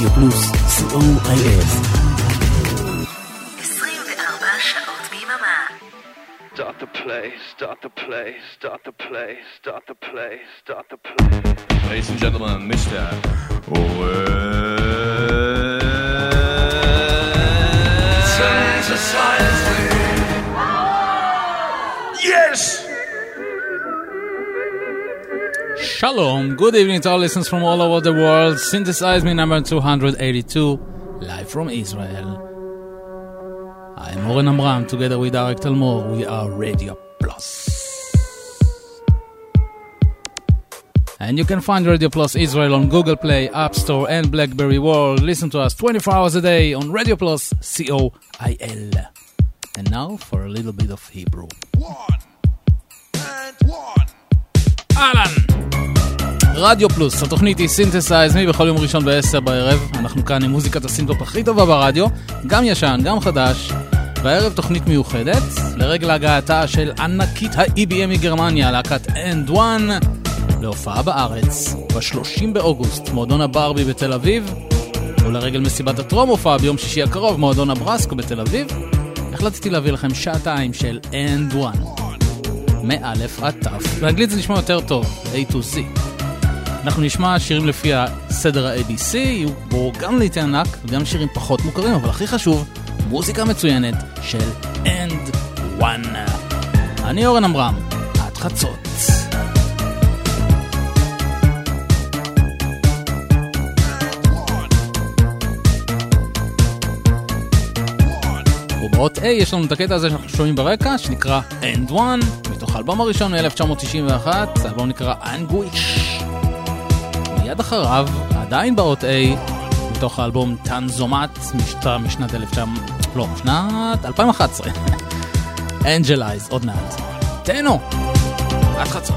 רדיו פלוס, COIL. 24 שעות ביממה. Start the play, start the play, start the play, start the play, start the play. Ladies and gentlemen, Mr. Yes! Shalom, good evening to all listeners from all over the world. Synthesize me number 282, live from Israel. I'm Oren Amram, together with Arik Talmor, we are Radio Plus. And you can find Radio Plus Israel on Google Play, App Store and BlackBerry World. Listen to us 24 hours a day on Radio Plus, COIL. And now for a little bit of Hebrew. אהלן! רדיו פלוס, התוכנית היא סינתסייז מי בכל יום ראשון ב-10 בערב. אנחנו כאן עם מוזיקת הסינטופ הכי טובה ברדיו, גם ישן, גם חדש. בערב תוכנית מיוחדת, לרגל הגעתה של ענקית ה-EBM מגרמניה, להקת End One, להופעה בארץ, ב-30 באוגוסט, מועדון הברבי בתל אביב, ולרגל מסיבת הטרום הופעה ביום שישי הקרוב, מועדון הברסקו בתל אביב, החלטתי להביא לכם שעתיים של End One. מאלף עד תף. באנגלית זה נשמע יותר טוב, A to Z. אנחנו נשמע שירים לפי הסדר ה-ABC, יהיו בו גם לעיתי ענק וגם שירים פחות מוכרים, אבל הכי חשוב, מוזיקה מצוינת של End One. אני אורן אמרם, עד חצות. ובאות A יש לנו את הקטע הזה שאנחנו שומעים ברקע, שנקרא End One, מתוך האלבום הראשון מ-1991, האלבום נקרא Anguish. מיד אחריו, עדיין באות A, מתוך האלבום טנזומט, משנת 2011. Angelize, עוד מעט. תהנו, עד חצות.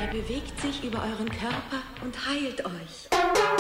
bewegt sich über euren Körper und heilt euch.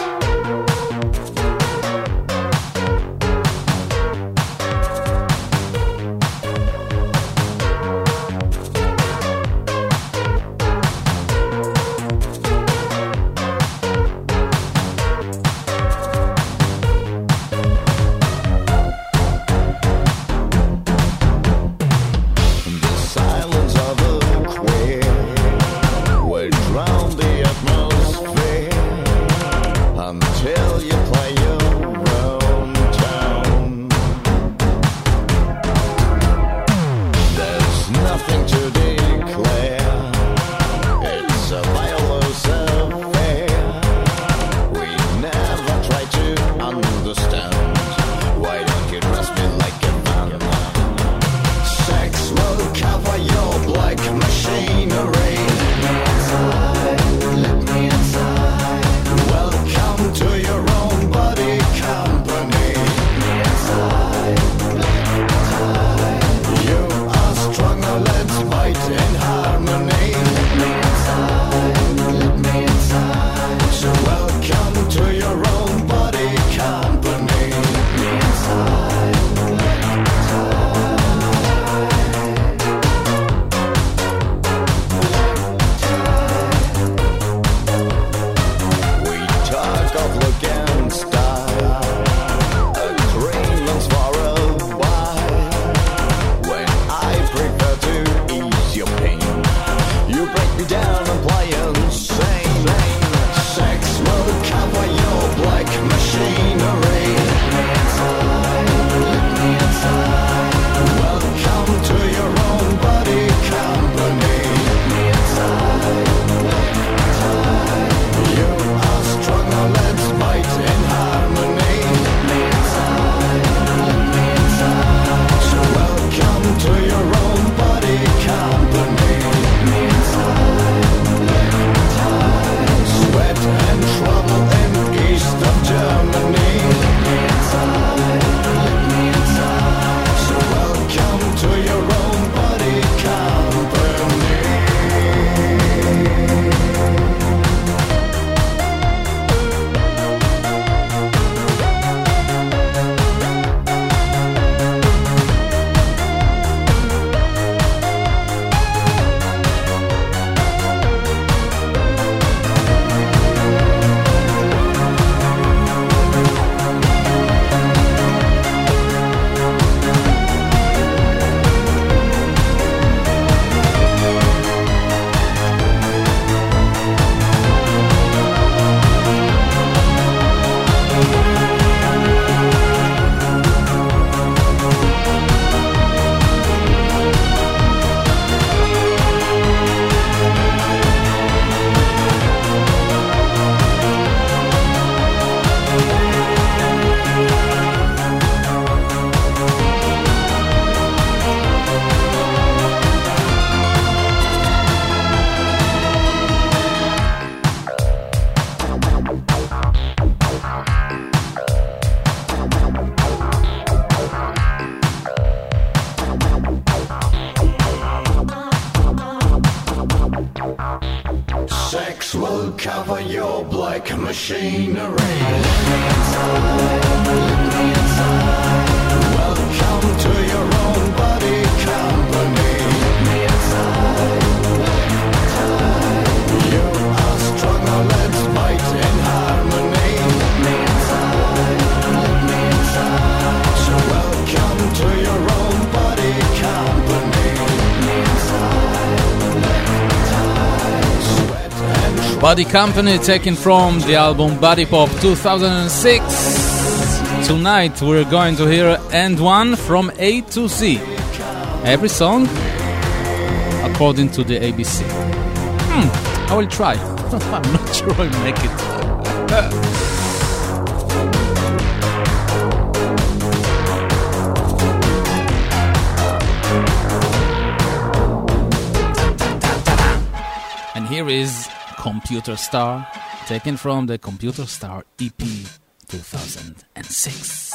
cover your black machinery. Welcome to your own body company. You are stronger, let's fight in harmony. So welcome to your own body company. Body Company, taken from the album Body Pop 2006. Tonight we're going to hear End One from A to Z. Every song according to the ABC. I will try. I'm not sure I'll make it. And here is Computer Star, taken from the Computer Star EP 2006.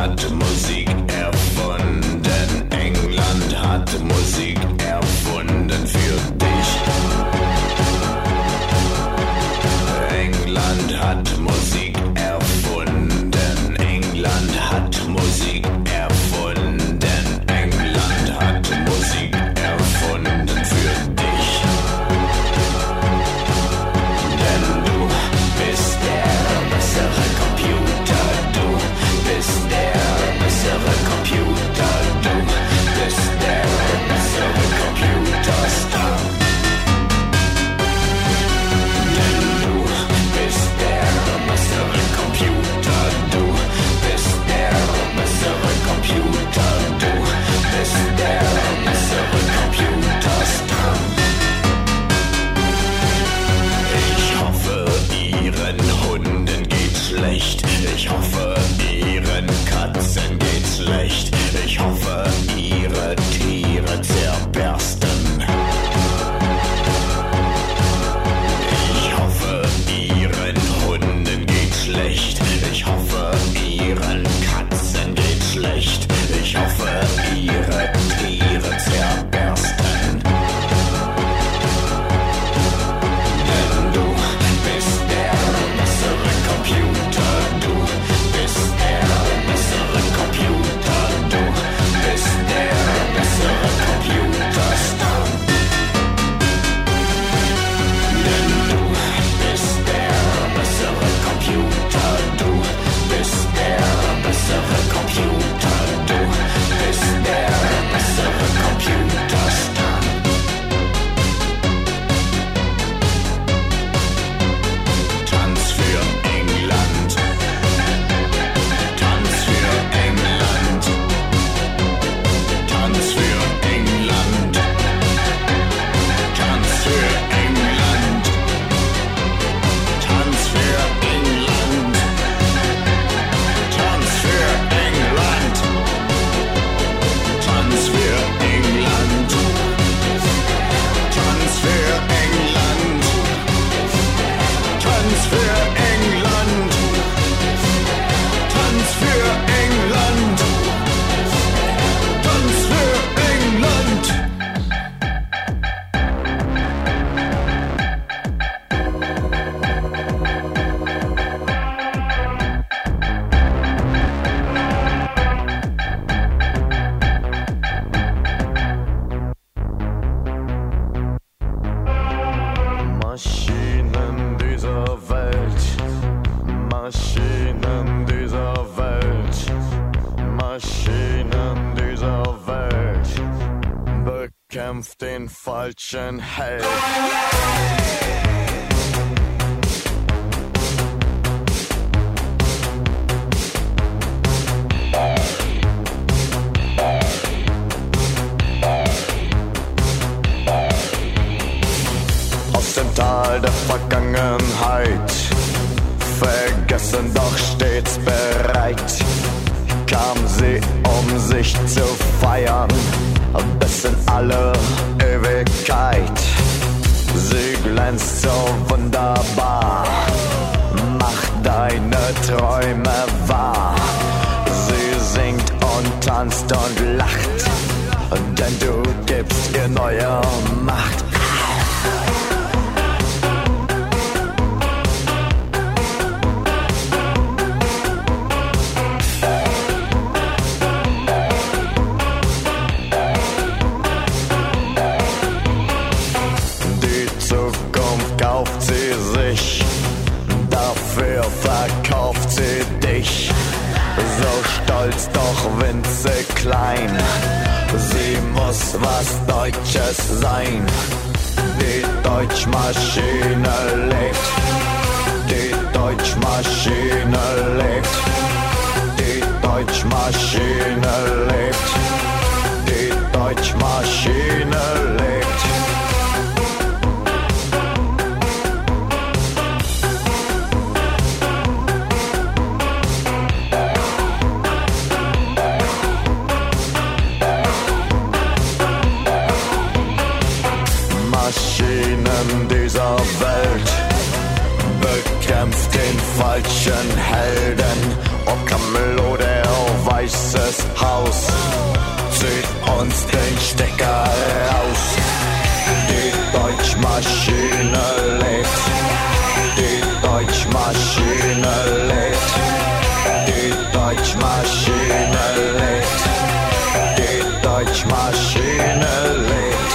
hat Musik erfunden. England hat Musik erfunden für dich. England hat Musik erfunden. England hat Musik erfunden. England hat Musik erfunden für dich. Denn du bist der bessere Computer. Du bist der bessere Computer. Du bist der bessere Computerstar. Denn du bist der bessere Computer. Du bist der bessere Computer. Du bist der bessere Computerstar. Ich hoffe, ihren Hunden geht's schlecht. Ich hoffe, ihren Katzen geht's schlecht. Ich hoffe, ihre Tiere zerbersten. Ich hoffe, ihren Hunden geht's schlecht. Ich hoffe, ihren Katzen geht's schlecht. Ich hoffe, ihre Tiere zerbersten. Denn du bist der bessere Computer. Du bist der bessere Computer. Du bist der bessere Computerstar. Denn du bist der bessere Computer. Du bist der bessere Computer. Du bist der bessere Computerstar. Tanz für England. Tanz für England. Tanz für England. Tanz für England. Tanz für England. Tanz für England. Tanz für England. Tanz für England. Tanz für England. Tanz für England. Tanz für England. Maschinen dieser Welt, Maschinen dieser Welt, Maschinen dieser Welt, bekämpft den falschen Held. Aus dem Tal der Vergangenheit, vergessen doch stets bereit, kam sie, um sich zu feiern, bis in alle Ewigkeit. Sie glänzt so wunderbar, mach deine Träume wahr. Sie singt und tanzt und lacht, denn du gibst ihr neue Macht. Kauft sie sich, dafür verkauft sie dich. So stolz, doch winzig klein, sie muss was Deutsches sein. Die Deutschmaschine lebt, die Deutschmaschine lebt, die Deutschmaschine lebt, die Deutschmaschine lebt. Maschinen dieser Welt, bekämpft den falschen Helden. Oh Camelot, der weißes Haus zieht uns den Stecker raus. Die Deutschmaschine lebt, die Deutschmaschine lebt, die Deutschmaschine lebt, die Deutschmaschine lebt.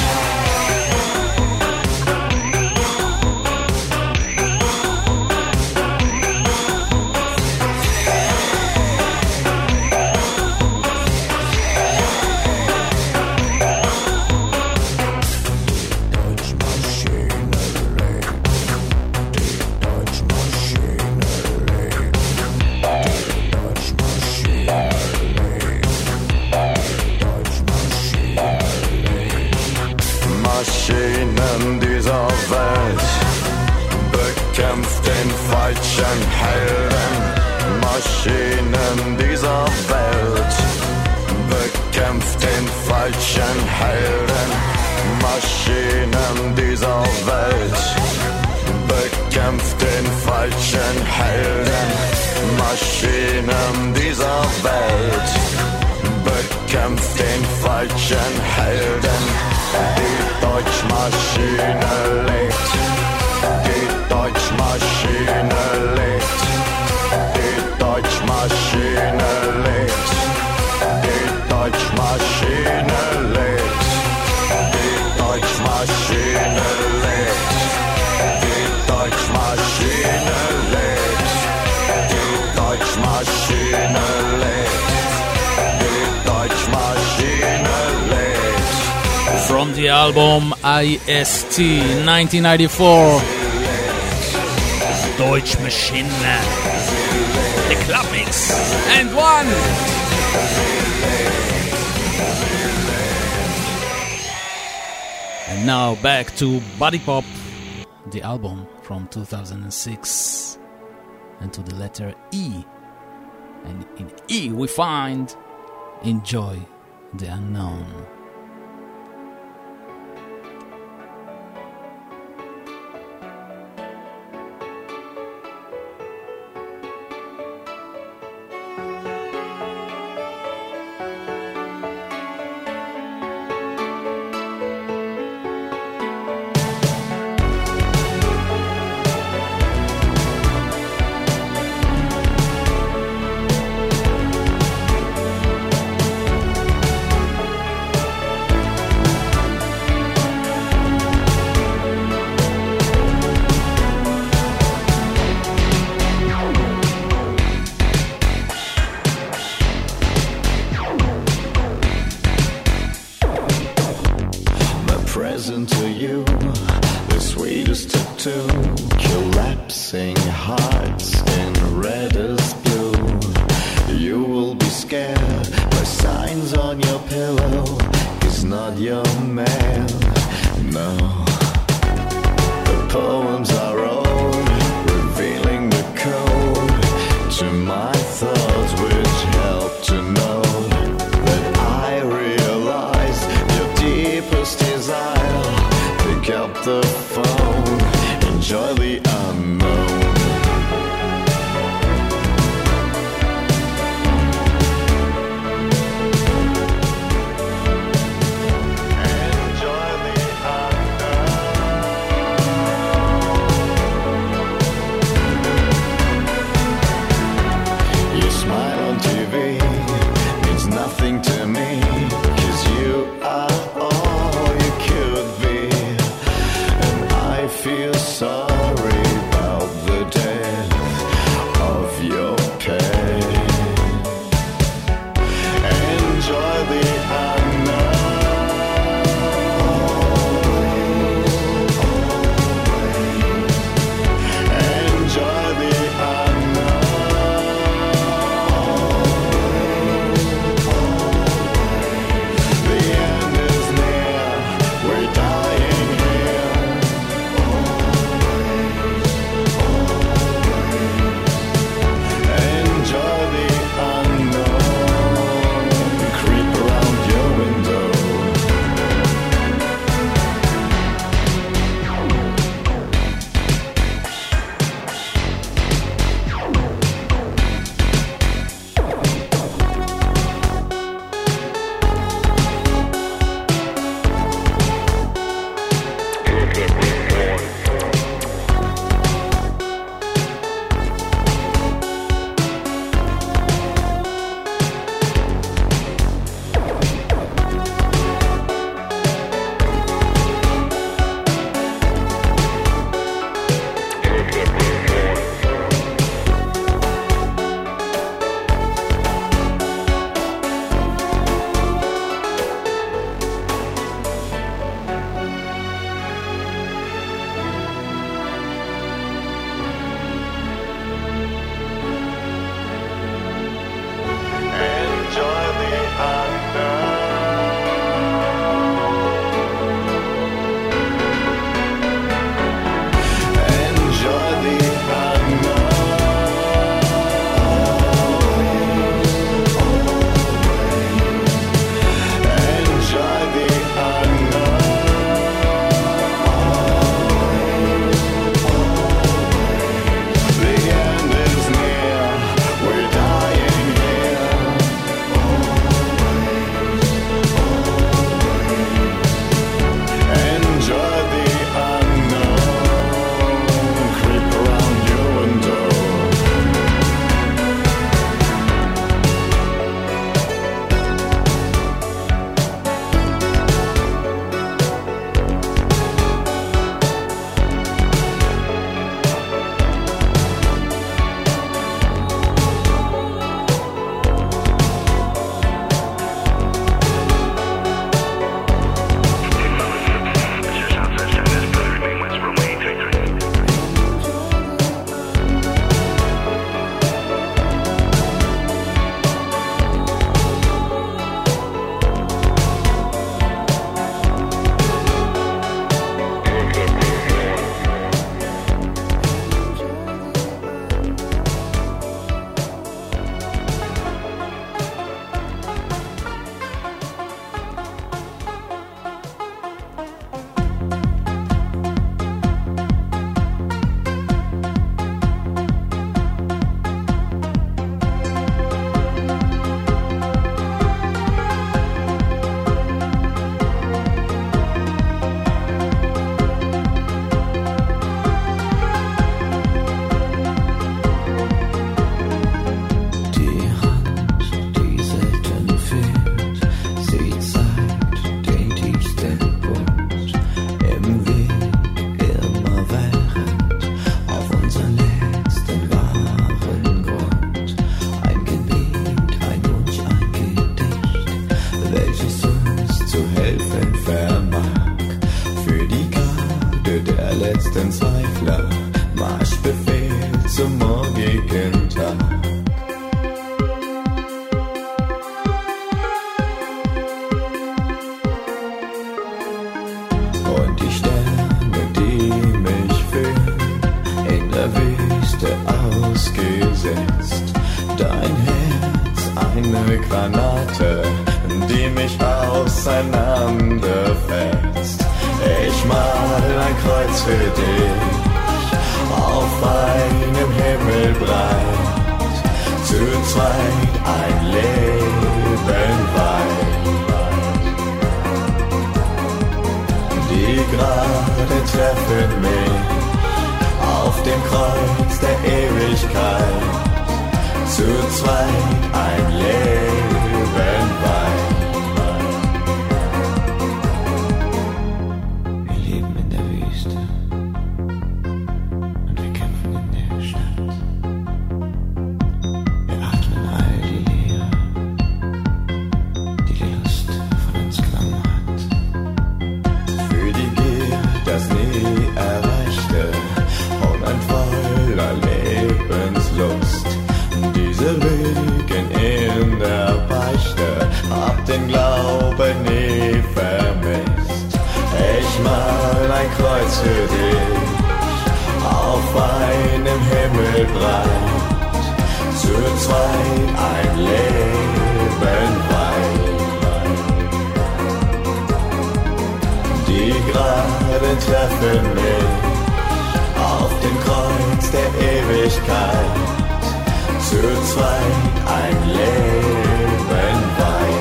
Maschinen dieser Welt bekämpft den falschen Helden. Maschinen dieser Welt bekämpft den falschen Helden. Maschinen dieser Welt bekämpft den falschen Helden. Maschinen dieser Welt bekämpft den falschen Helden. Die Deutschmaschine lebt, die Deutschmaschine lebt, die Deutschmaschine lebt, die Deutschmaschine lebt, die Deutschmaschine lebt, die Deutschmaschine lebt, die Deutschmaschine lebt, die Deutschmaschine lebt. From the album IST 1994, Deutsch Machine, the club mix, and one. And now back to Body Pop, the album from 2006, and to the letter E. And in E we find Enjoy the Unknown. To me, 'cause you are all you could be, and Granate, die mich auseinanderfetzt. Ich mal ein Kreuz für dich, auf einem Himmel breit, zu zweit ein Leben weit. Die gerade treffen mich auf dem Kreuz der Ewigkeit, zu zweit ein Leben weit. Wir leben in der Wüste und wir kämpfen in der Stadt. Wir atmen all die Leere, die die Lust von uns genommen hat. Für die Gier, das nie erreichte, und ein voller Lebenslust. Diese Lügen in der Beichte, hab den Glauben nie vermisst. Ich mal ein Kreuz für dich, auf einem Himmel breit, zu zweit ein Leben weit. Die gerade treffen mich auf dem Kreuz der Ewigkeit, zu zweit ein Leben weit.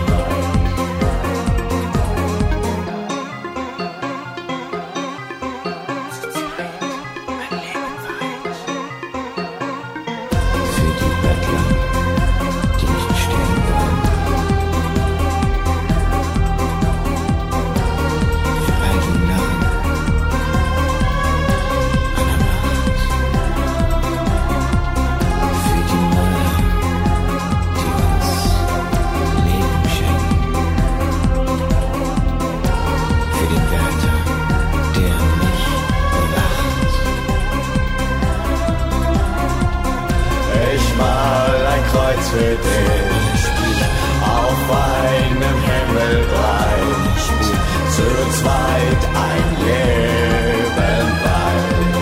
Für die Bettler, die nicht stehen wollen. Für all die Narren einer Nacht. Für die Mörder, die uns Leben schenken. Für den Wärter, der mich bewacht. Ich mal ein Kreuz für dich, auf einem Himmel breit, zu zweit ein Leben weit.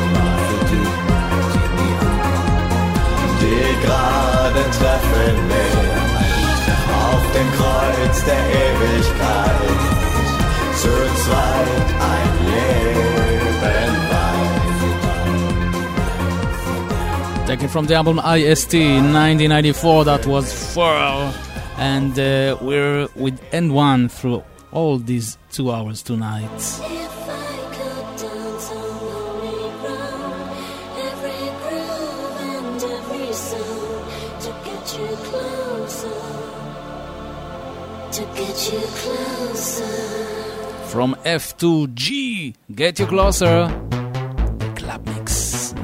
Die gerade treffen mich auf dem Kreuz der Ewigkeit, zu zweit ein Leben weit. Taken from the album IST 1994, that was Furl. And we're with N1 through all these 2 hours tonight. If I could dance on holy ground, every groove and every sound, to get you closer, to get you closer. From F to G, Get You Closer, the Club Mix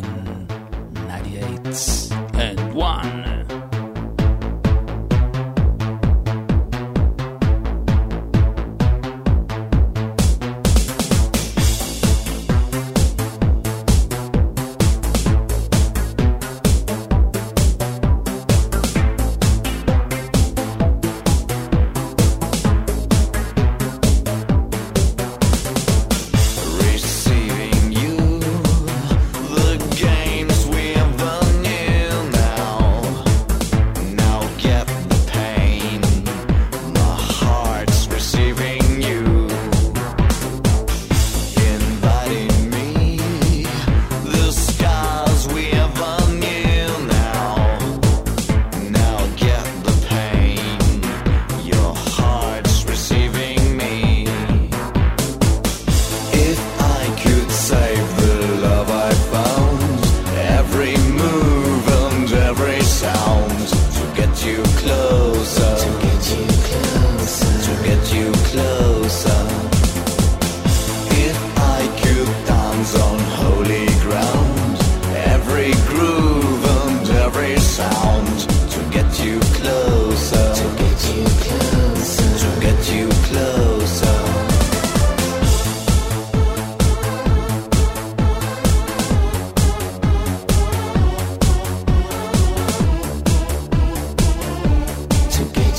1998 and 1. Receiving you, the games we ever knew now. Now get the pain, my heart's receiving you. Inviting me, the scars we ever knew now. Now get the pain, your heart's receiving me. If I could save the love I found, every move and every sound, to get you closer, to get you closer, to get you closer. If I could dance on holy ground, every groove and every sound, to get you closer, to get you closer, to get you closer. To get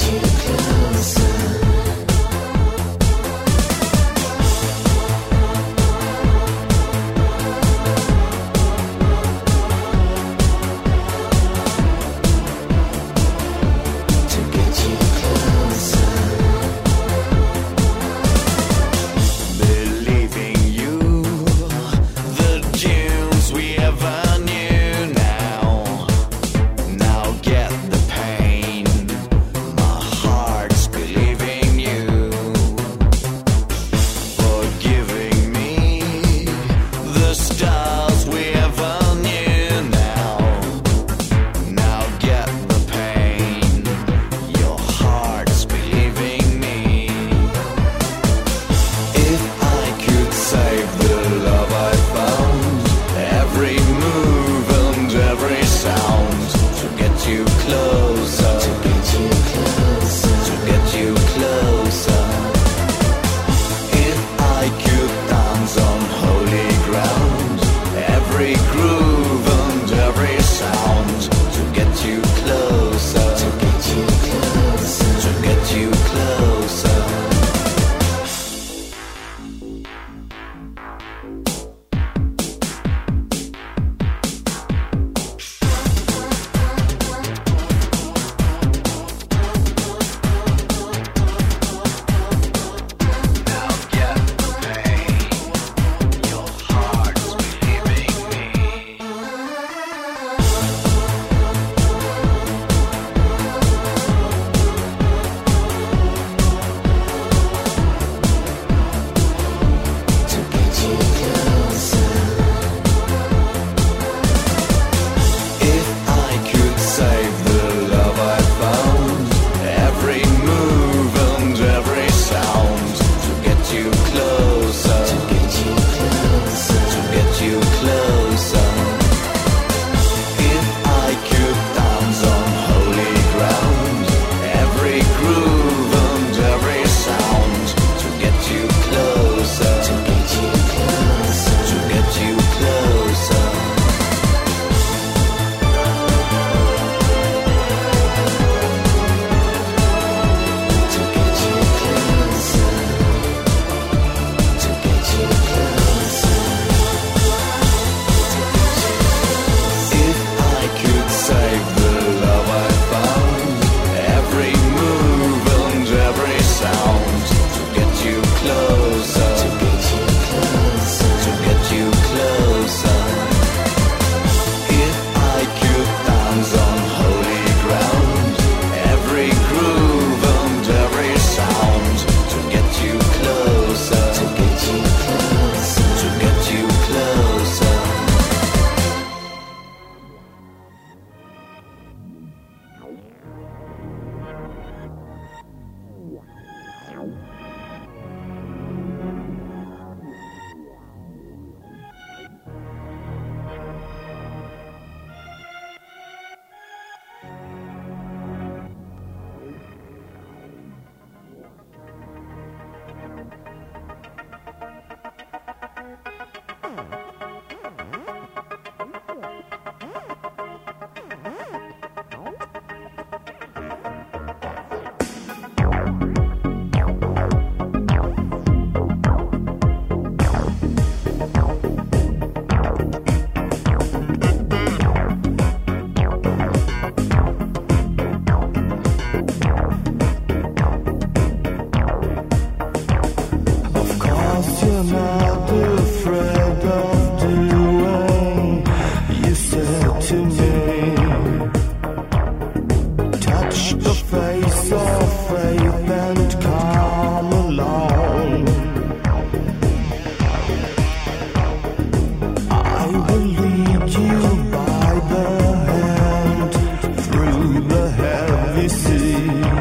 see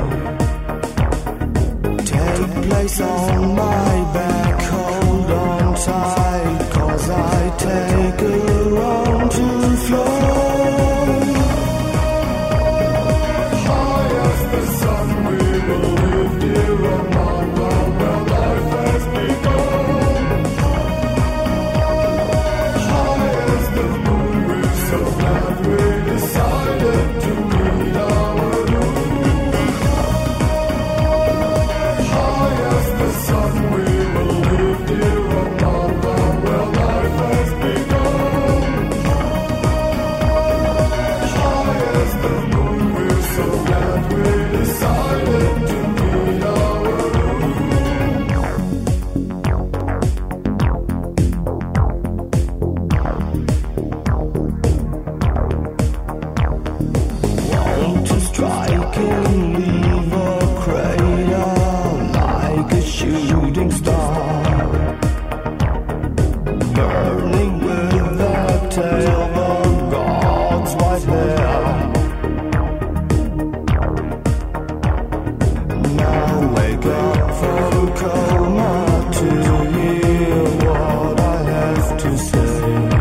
take place on my back. Hold on tight, 'cause I take her on to flow. High as the sun, we will live dear among the where life has begun. High as the moon, we're so glad we decided to meet our doom. High as the sun, we will live dear among the where life has begun. High as the moon, we're so glad we decided to meet our doom. Want to strike and leave a crater like a shooting star, burning with the tail of God's white hair. Now wake up from coma to hear what I have to say.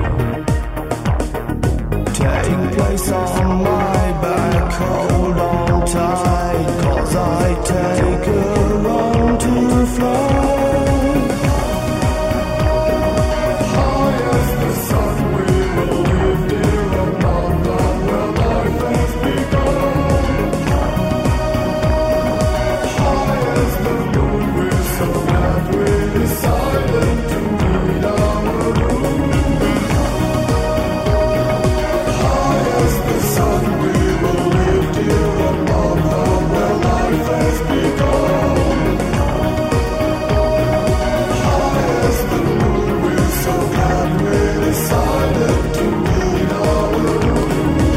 Take place on my back, hold on tight, 'cause I take her on to fly. High as the sun, we will live dear among the where life has begun. High as the moon, we're so glad we decided to meet our doom. High as the sun, we will live dear among the where life has begun. High as the moon, we're so glad we decided to meet our doom.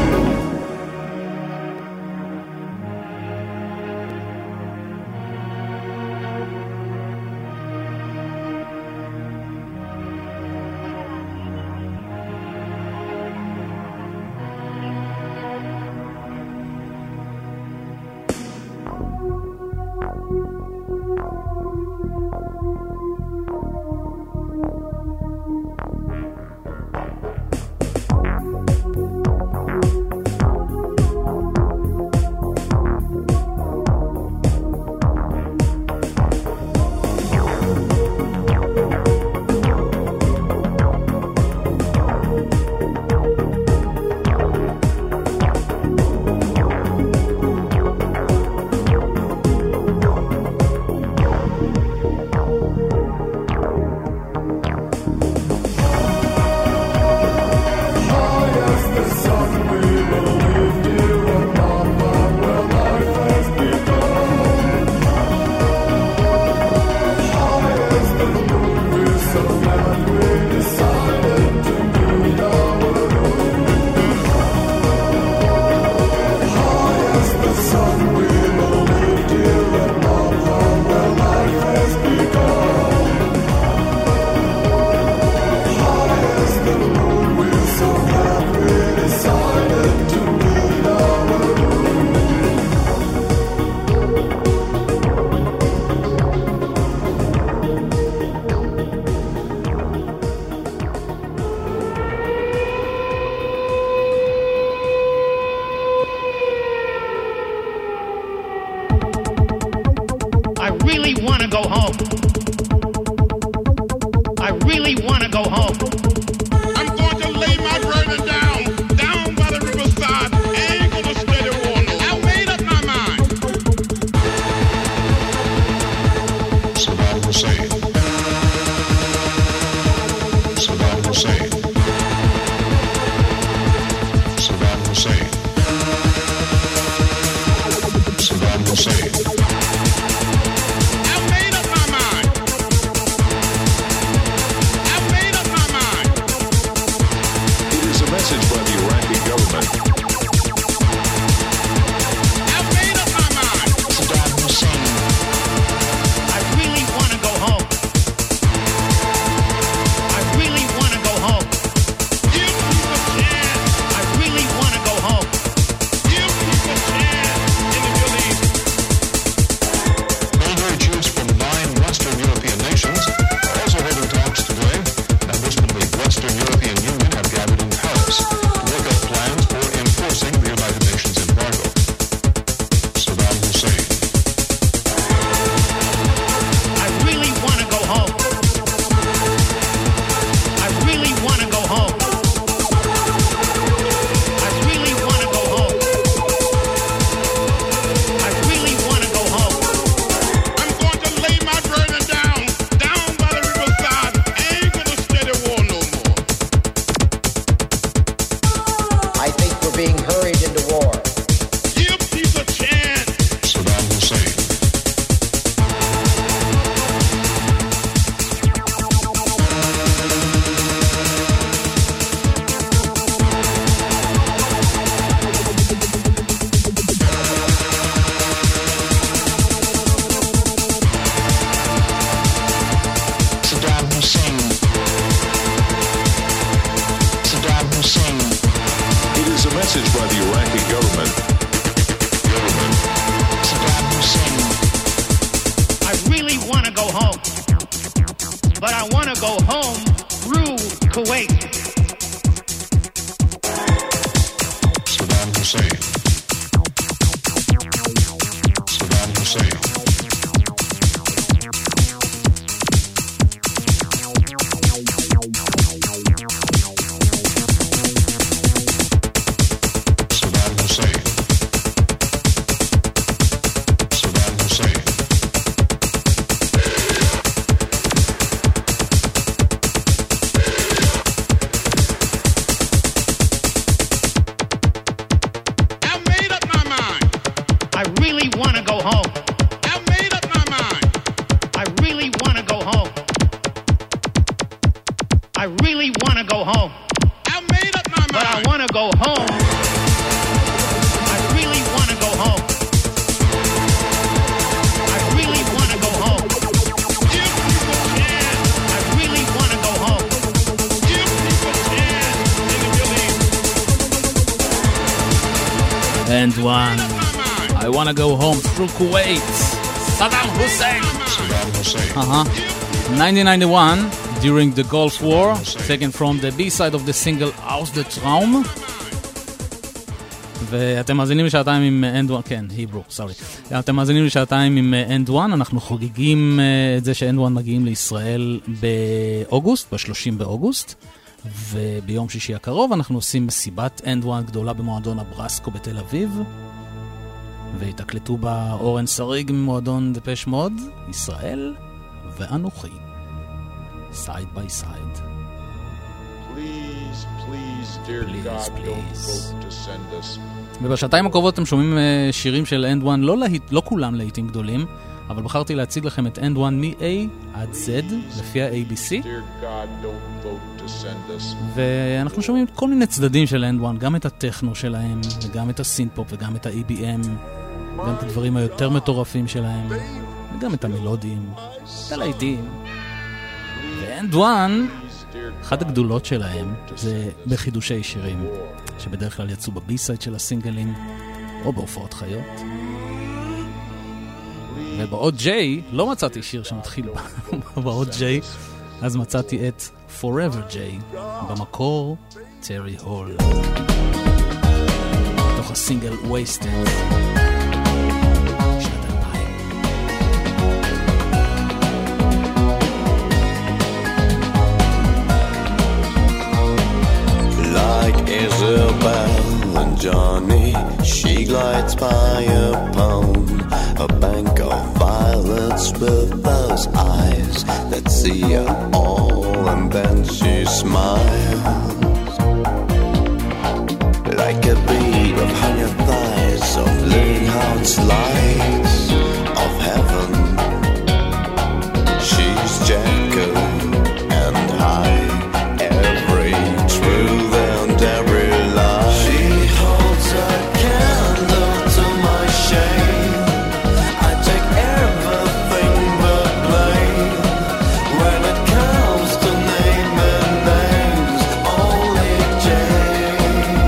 I really want to go home. I really want to go home. I'm going to lay my burden down by the riverside. I ain't going to steady water. I made up my mind. Saddam Hussein. Saddam Hussein. Saddam Hussein. Saddam Hussein. I made up my mind. I home. But I want to go home through Kuwait. Saddam Hussein. Saddam Hussein. And one, I wanna go home through Kuwait. Saddam Hussein. Saddam Hussein. 1991, during the Gulf War, taken from the B-side of the single Aus der Traum. ואתם מאזינים לשעתיים עם End One, כן, היברו, סורי. אתם מאזינים לשעתיים עם End One, אנחנו חוגגים את זה ש-End One מגיעים לישראל באוגוסט, ב-30 באוגוסט. וביום שישי הקרוב אנחנו עושים מסיבת End One גדולה במועדון הברסקו בתל אביב, והתקלטו בה אורן סריג ממועדון דפש מוד, ישראל ואנוכי, side by side. Please, dear God, don't vote to send us. ובשעתיים הקרובות אתם שומעים שירים של End One, לא כולם להיטים גדולים, אבל בחרתי להציג לכם את End One מ-A עד Z, לפי ה-ABC. ואנחנו שומעים כל מיני צדדים של End One, גם את הטכנו שלהם, וגם את הסינפופ, וגם את ה-EBM, גם את הדברים היותר מטורפים שלהם, וגם את המלודיים, את הלהיטים. ו-End One, אחת הגדולות שלהם, זה בחידושי שירים, שבדרך כלל יצאו בבי-סייד של הסינגלים, או בהופעות חיות. ובאות J לא מצאתי שיר שמתחיל באות J, אז מצאתי את Forever J, במקור טרי הול, תוך הסינגל Wasted. Like Isabel and Johnny, she glides by upon a bank of violets with those eyes that see it all, and then she smiles like a bead of honey thighs, of living hearts lights of heaven. She's Jekyll and Hyde, every truth and every lie. She holds a candle to my shame. I take everything but blame. When it comes to naming names, only Jane,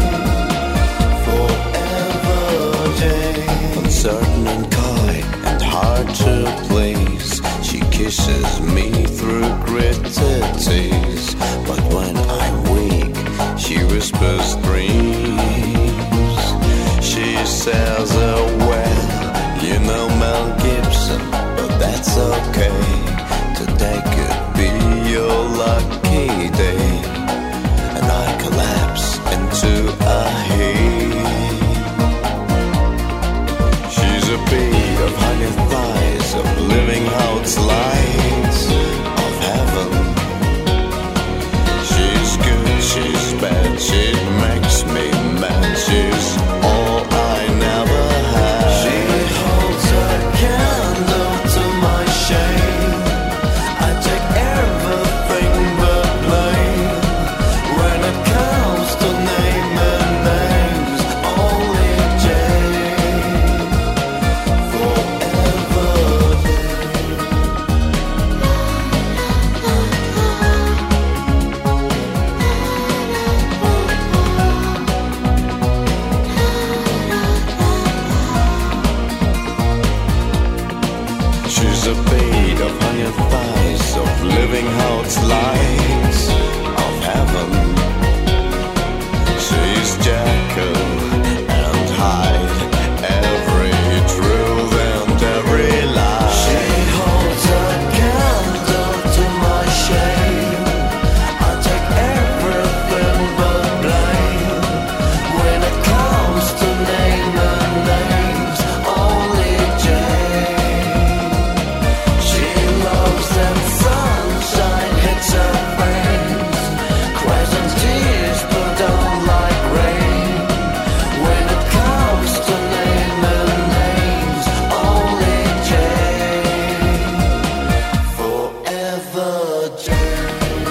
forever Jane. Uncertain and coy and hard to please, she kisses me through gritted teeth. But when I'm weak, she whispers dreams. She says, oh well, you know Mel Gibson, but that's okay. Today could be your lucky day. And I collapse into a heap. She's a bee of honey thighs, of living hearts lights of heaven. She's good, she's bad, she makes me mad. She's all I never had. She holds a candle to my shame. I take everything but blame. the beat upon your thighs of living hearts lights of heaven. She's Jekyll and Hyde, every truth and every lie. She holds a candle to my shame. I take everything but blame. When it comes to naming names, only Jane. She loves that sunshine hits her face, cries and tears but don't like rain. When it comes to naming names, only Jane. Forever Jane.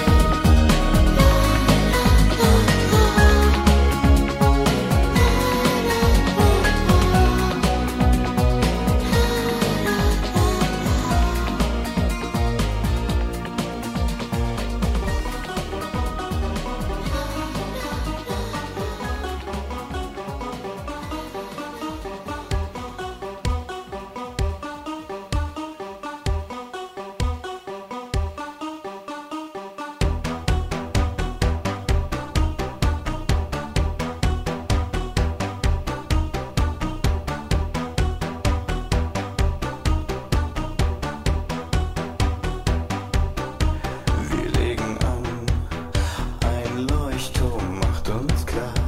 Wir legen an, ein Leuchtturm macht uns klar,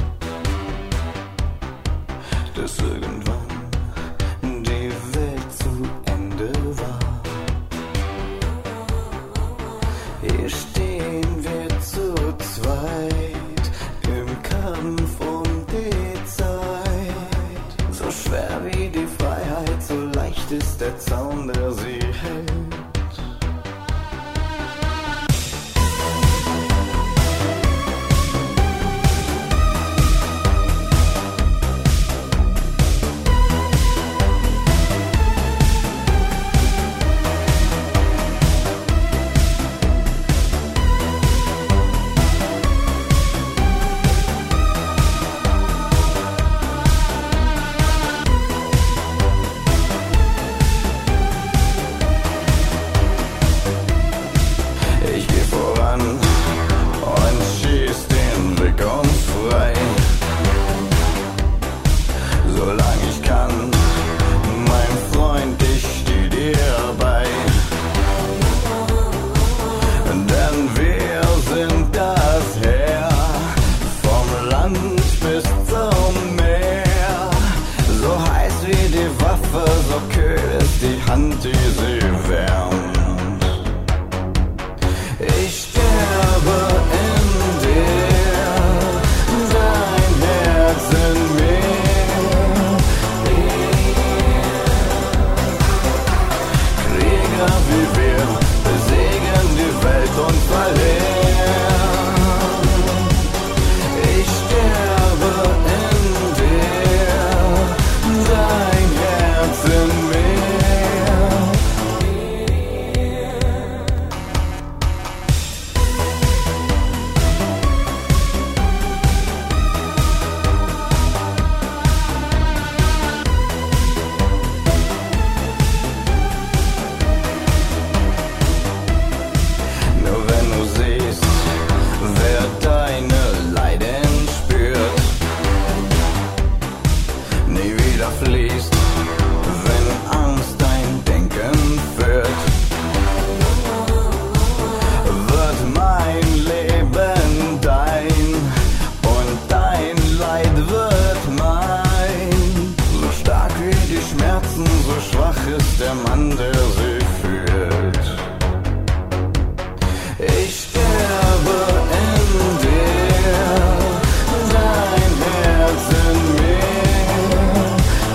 dass irgendwann die Welt zu Ende war. Hier stehen wir zu zweit im Kampf um die Zeit. So schwer wie die Freiheit, so leicht ist der Zaun, der sie hält. Ich geh voran und schieß den Weg uns frei. Solange ich kann, mein Freund, ich steh dir bei. Denn wir sind das Heer, vom Land bis zum Meer. So heiß wie die Waffe, so kühl ist die Hand, die sie wärmt. Ich sterbe in dir, dein Herz in mir. Krieger wie wir besiegen die Welt und verlieren. Ich sterbe in dir, dein Herz in mir. Nur wenn du siehst, wer deine Leiden spürt, nie wieder fließt, wenn Angst dein Denken führt, wird mein Leben dein und dein Leid wird mein. So stark wie die Schmerzen, so schwach ist der Mann, der sie fühlt. Ich sterbe in dir, dein Herz in mir.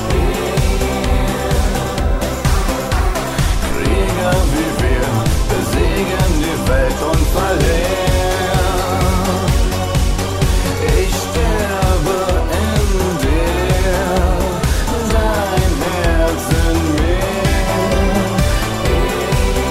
Krieger wie wir besiegen die Welt und verlieren. Ich sterbe in dir, dein Herz in mir.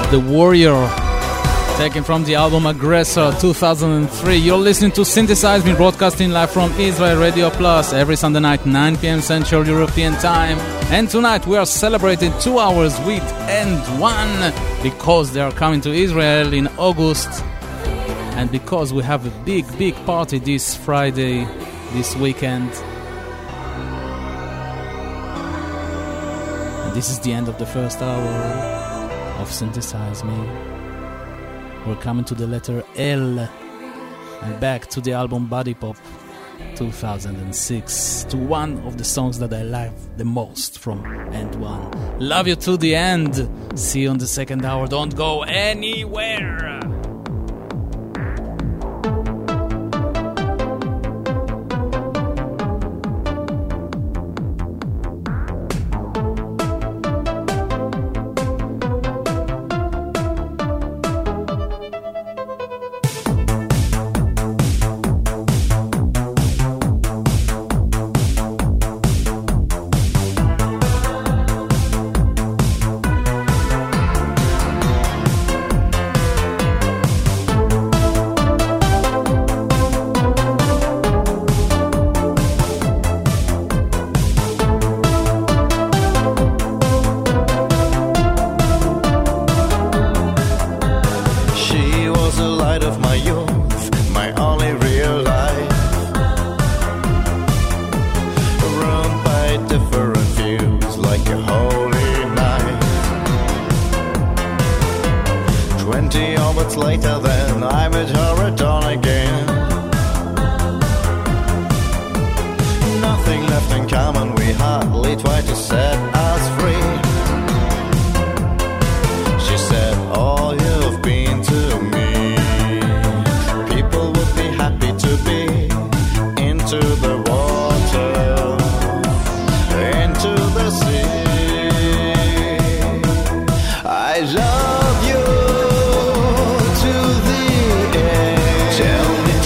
The Warrior, taken from the album Aggressor 2003. You're listening to Synthesize Me, broadcasting live from Israel Radio Plus every Sunday night, 9 p.m. Central European Time. And tonight we are celebrating 2 hours with And One, because they are coming to Israel in August, and because we have a big party this Friday, this weekend. And this is the end of the first hour of Synthesize Me. We're coming to the letter L and back to the album Body Pop 2006, to one of the songs that I like the most from And One. Love you to the end. See you on the second hour. Don't go anywhere. Love you to the end. Tell me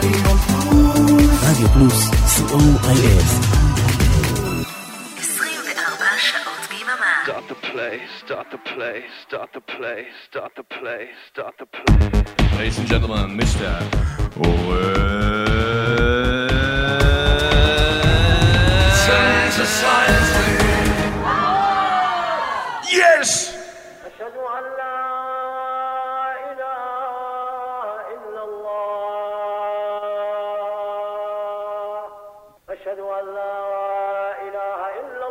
רדיו פלוס, COIF. 24 שעות ביממה. Start the play, start the play, start the play, start the play, start the play. Ladies and gentlemen, Mr. Yes! أشهد أن لا إله إلا الله أشهد أن لا إله إلا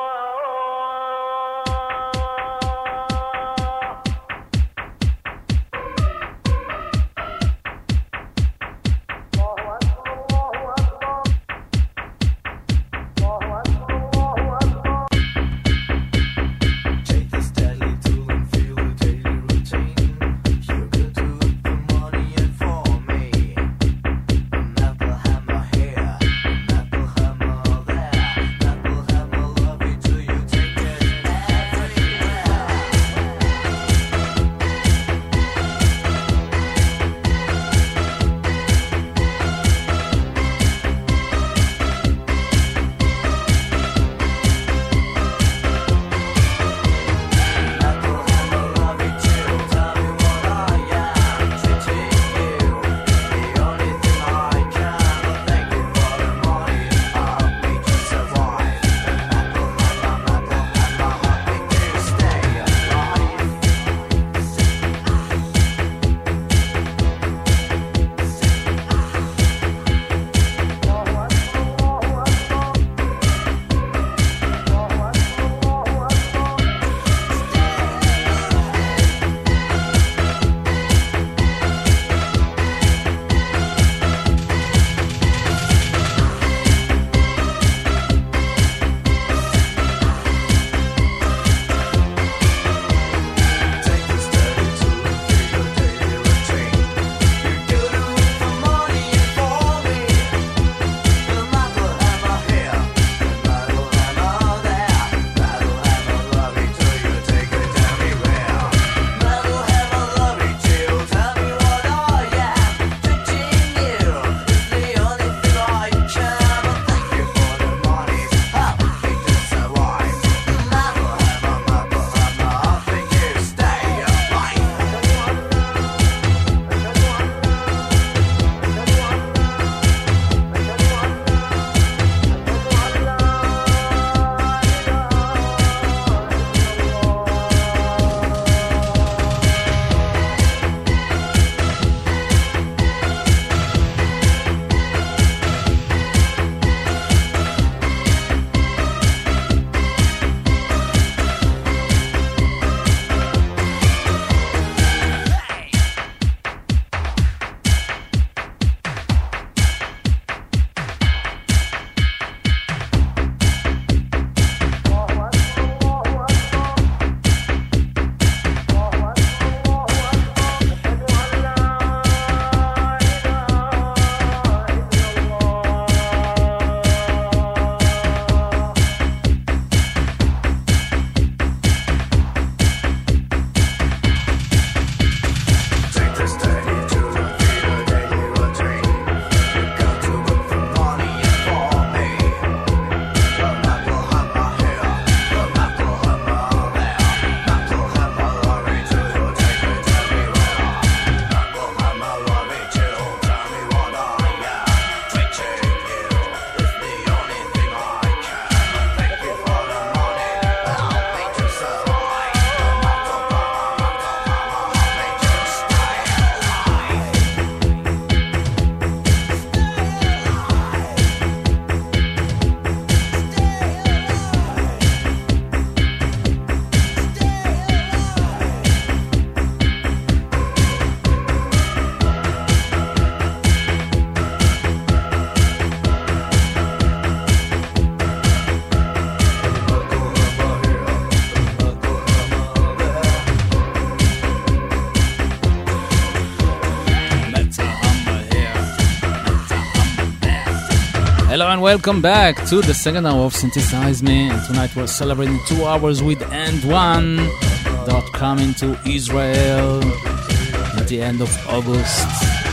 Hello and welcome back to the second hour of Synthesize Me, and tonight we're celebrating 2 hours with And One dot coming to Israel at the end of August.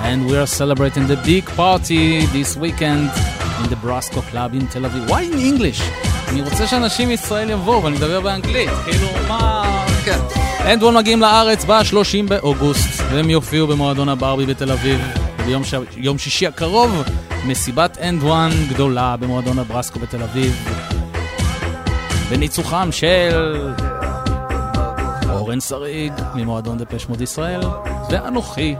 And we are celebrating the big party this weekend in the Brasco Club in Tel Aviv. Why in English? אני רוצה שאנשים מישראל יבואו ואני מדבר באנגלית. כאילו, מה... כן. End One מגיעים לארץ ב-30 באוגוסט, והם יופיעו במועדון הברבי בתל אביב. ביום שישי הקרוב, מסיבת End One גדולה במועדון הברסקו בתל אביב. בניצוחם של אורן שריג ממועדון דפש מוד ישראל, ואנוכי.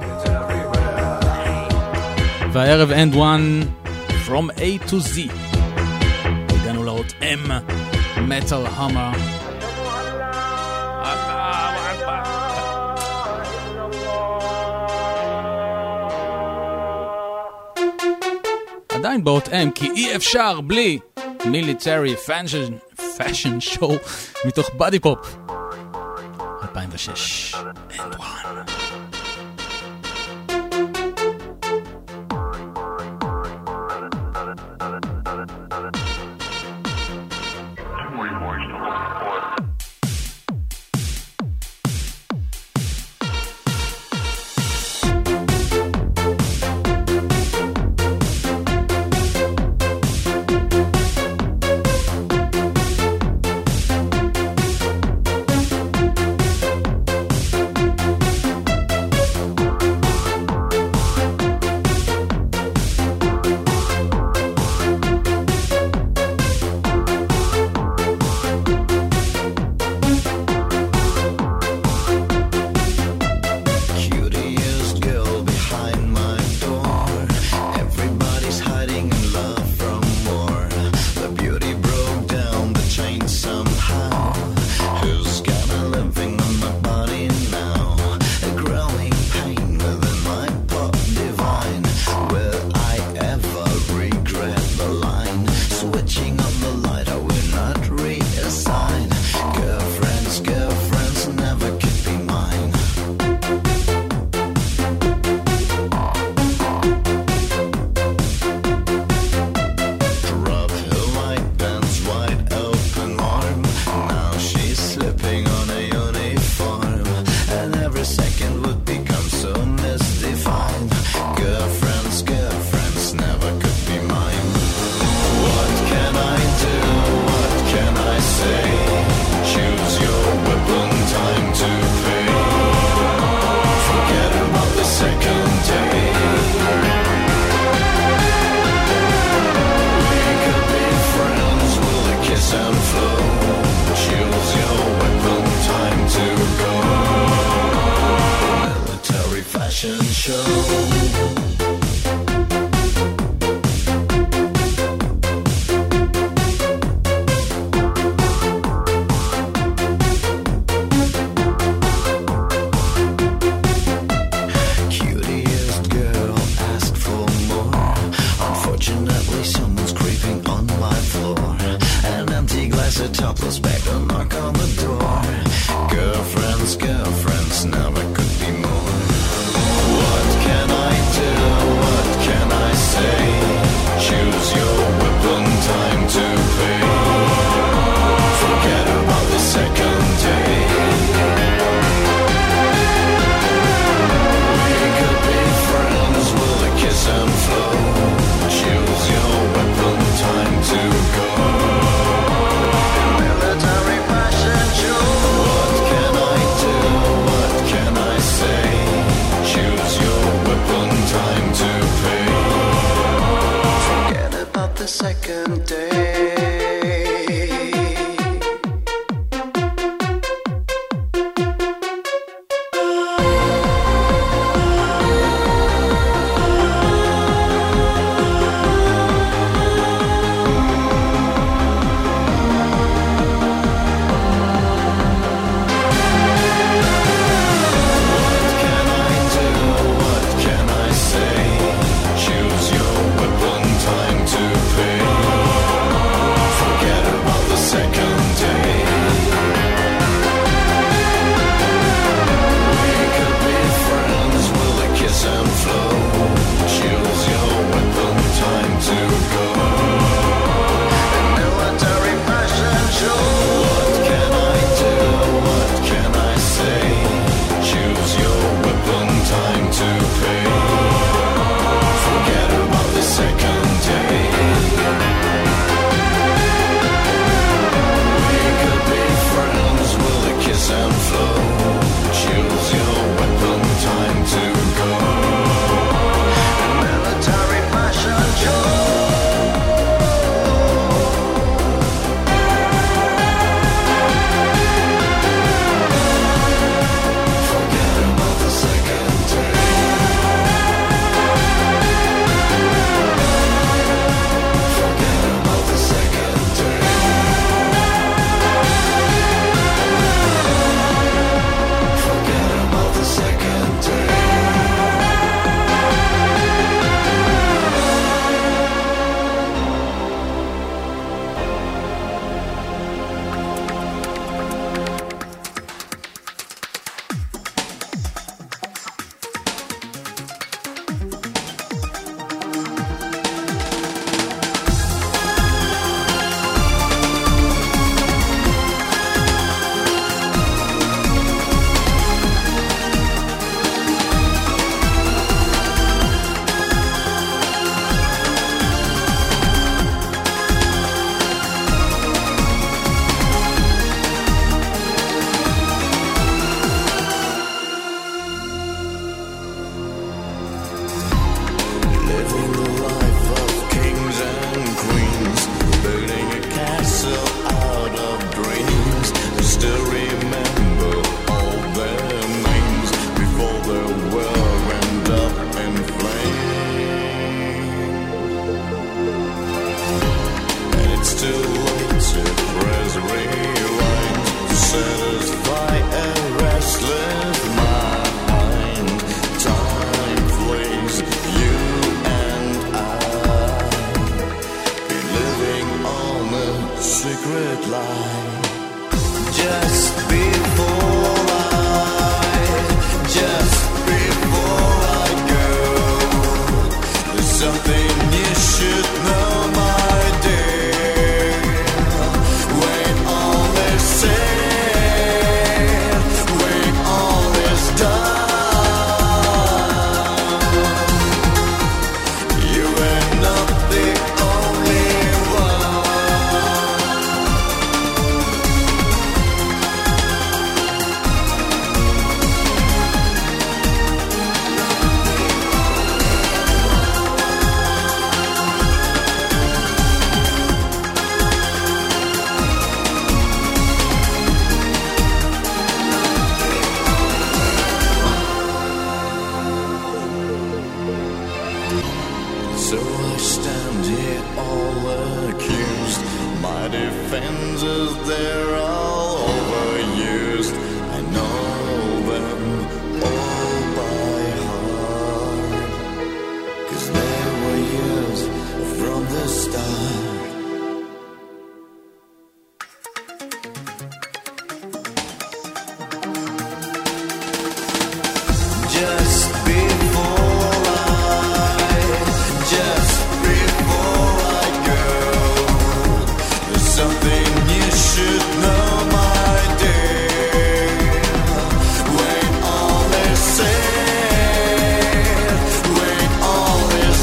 והערב End One From A to Z. הגענו לאות M, Metal Hammer. עדיין באות M, כי אי אפשר בלי Military Fashion Show מתוך Body Pop 2006. End One. Choose your weapon, time to pay. fly. Just before I go, there's something you should know, my dear. When all is said, when all is done, you are not the only one. So I stand here all accused. My defenses, they're all overused. I know them all by heart, 'cause they were used from the start. Just before I go, there's something you should know, my dear. When all is said, when all is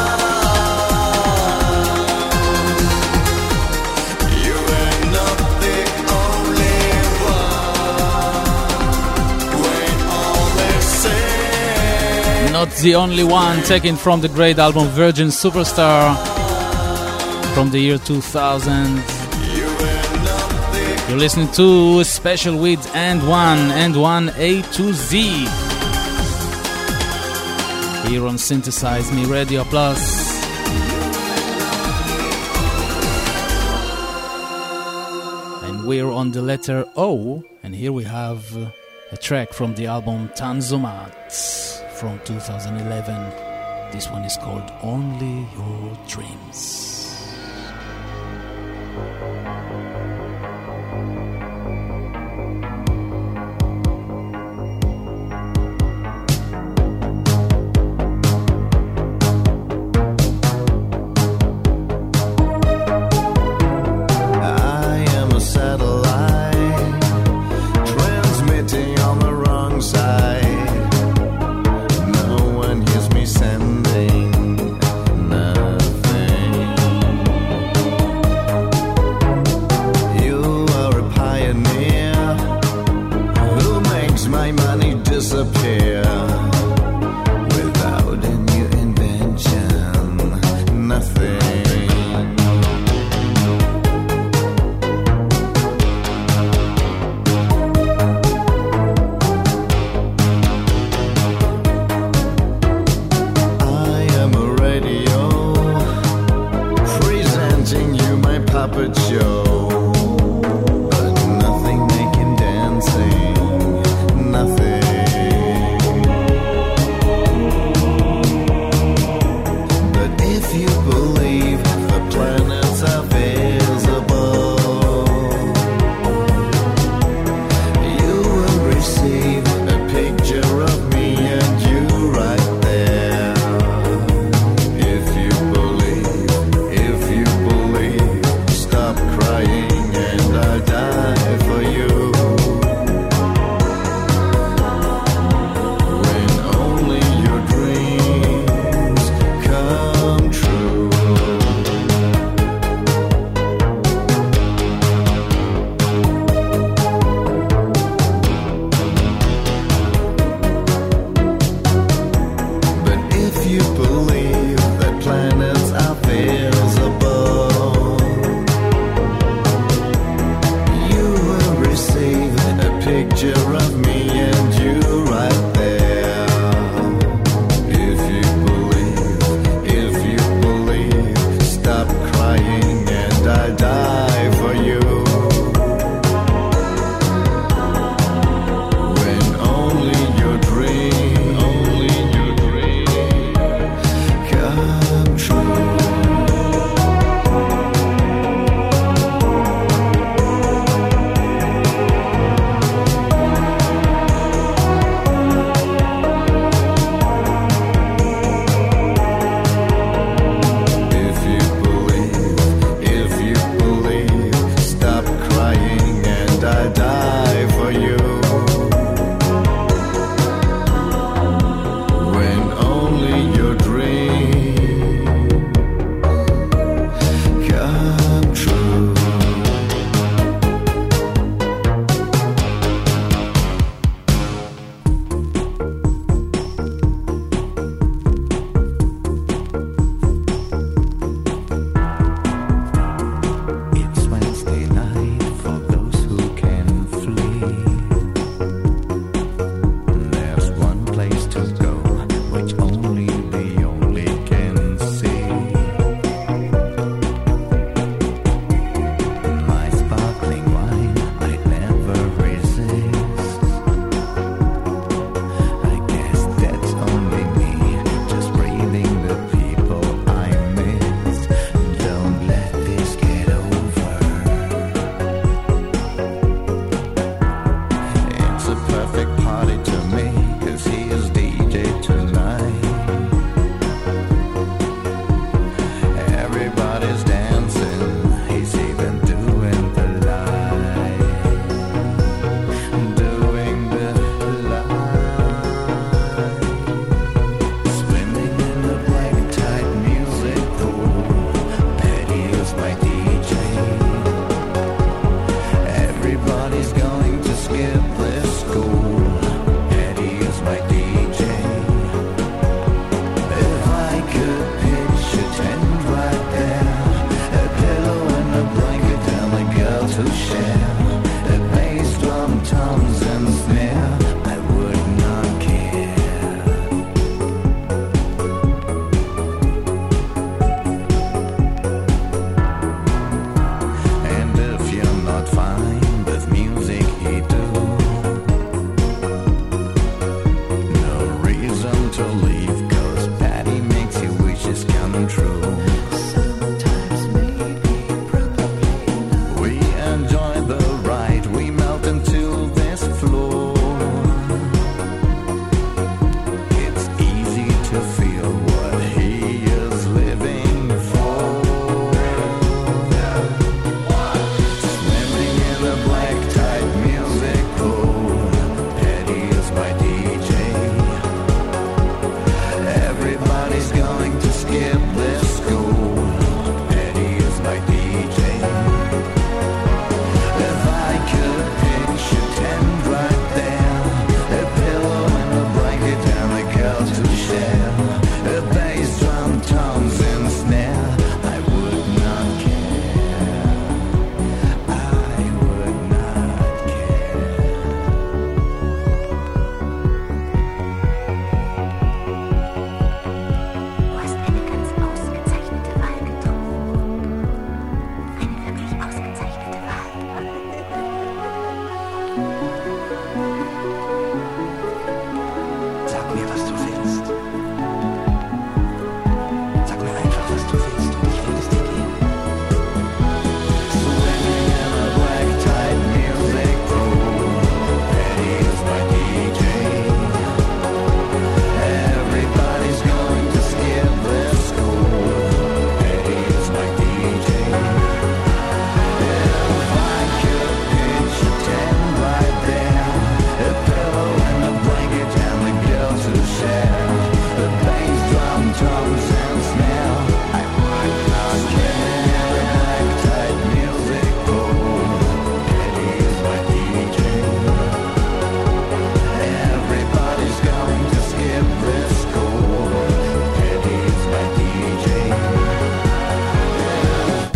done, you are not the only one. When all is said, Not the only one, taken from the great album Virgin Superstar from the year 2000. You're listening to Special with and one A to Z here on Synthesize Me Radio Plus. And we're on the letter O, and here we have a track from the album Tanzumat from 2011. This one is called Only Your Dreams. I am a satellite transmitting on the wrong side. No one hears me sending nothing. You are a pioneer who makes my money disappear without a new invention. Nothing. I am a radio presenting you my puppet show, but nothing making dancing, nothing. But if you believe the planets are visible, you will receive a picture of me and you right there. If you believe, stop crying and I'll die for you. When only your dreams come true.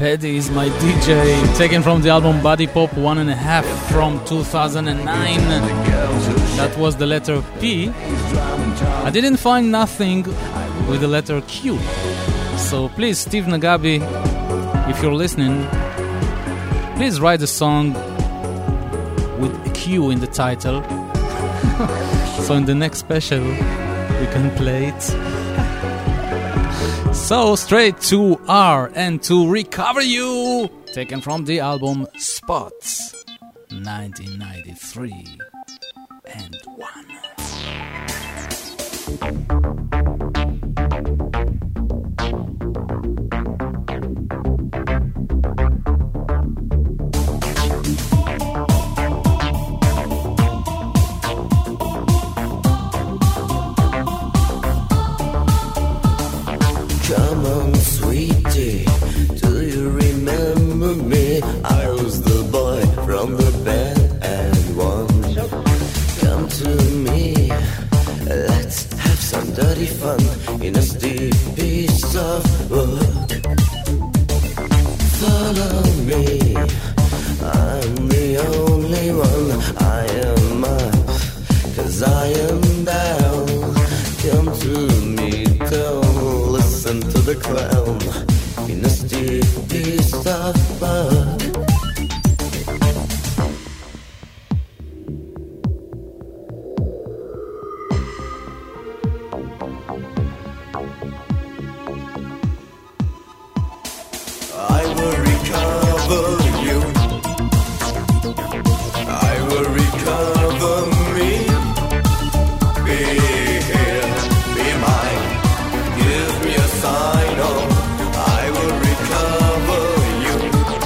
Paddy is my DJ, taken from the album Body Pop 1.5 from 2009. That was the letter P. I didn't find nothing with the letter Q. So please, Steve Nagabi, if you're listening, please write a song with a Q in the title. So in the next special, we can play it. So straight to R and to Recover You, taken from the album Spots 1993 and 1. Come on, sweetie, do you remember me? I was the boy from the band and one. Come to me, let's have some dirty fun in a steep piece of wood. Follow me, I'm the only one. I am up, 'cause I am down. Come to me, don't listen to the clown in a steep piece of mud. I will recover you. I will recover me. Be here, be mine. Give me a sign, oh, I will recover you.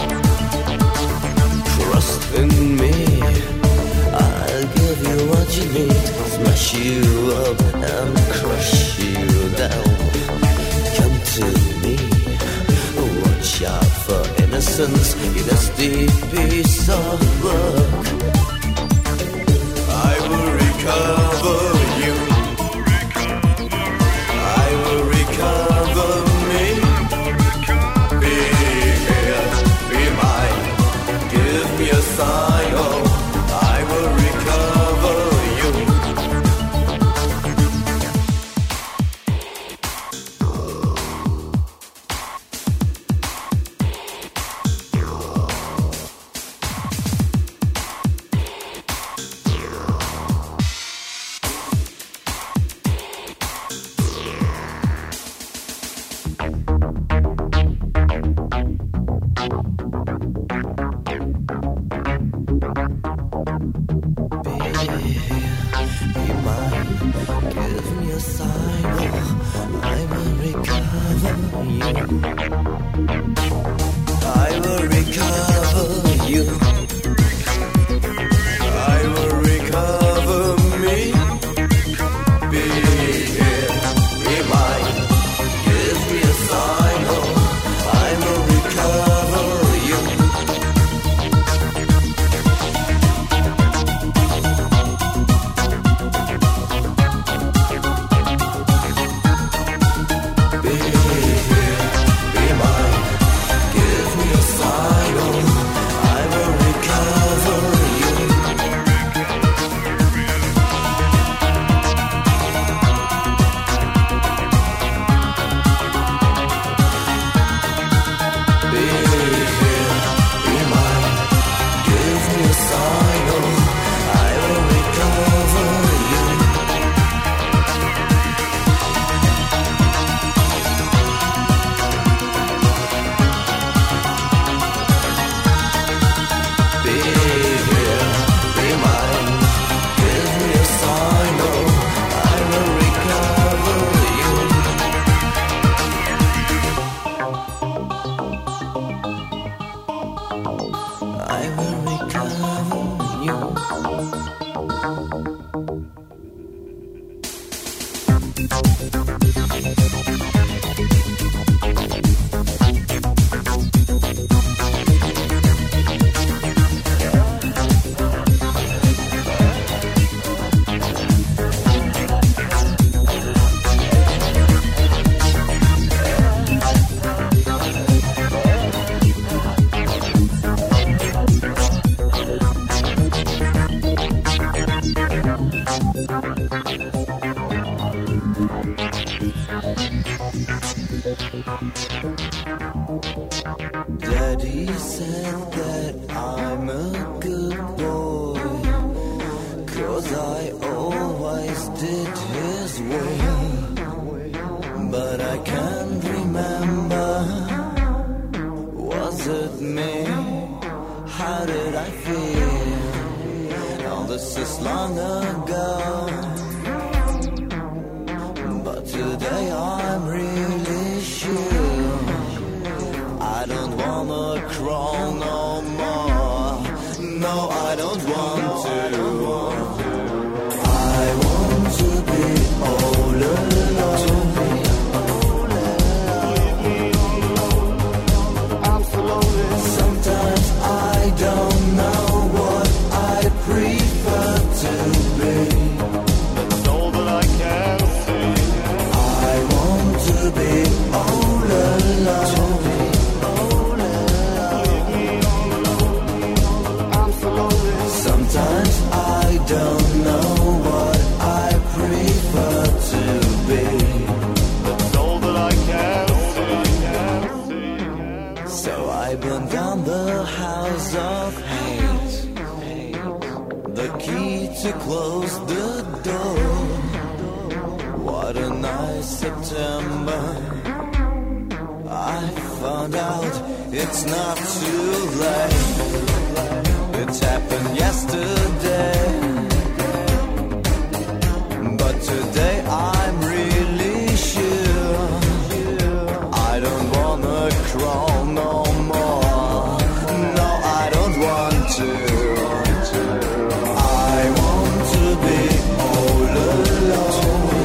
Trust in me, I'll give you what you need. Smash you up and crush you down. Come to me, watch out for innocence in a steep piece of work. I will recover you. I will recover me. Be here, be mine. Give me a sign, oh, I will recover you. I will Daddy said that I'm a good boy, 'cause I always did his will. But I can't remember, was it me? How did I feel? All this is long ago, but today I'm really sure I don't wanna crawl no more. No, I don't want to. I want to be all alone. I'm so lonely. Sometimes I don't know what I prefer to be. That's all that I can see. I want to be all alone. Sometimes I don't know what I prefer to be. That's all that I can see. So I burn down the house of hate, the key to close the door. What a nice September. I found out it's not too late. It happened yesterday, but today I'm really sure I don't wanna crawl no more. No, I don't want to. I want to be all alone.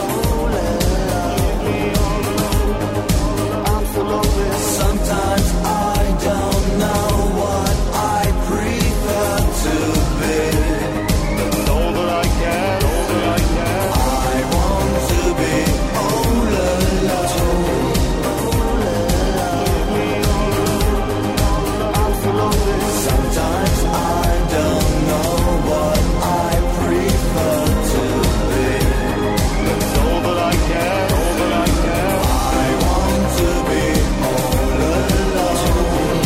I'm so lonely. Sometimes I don't know what I prefer to be. That's all that I can. I want to be all alone. I'm so lonely. Sometimes I don't know what I prefer to be. That's all that I can. I want to be all alone.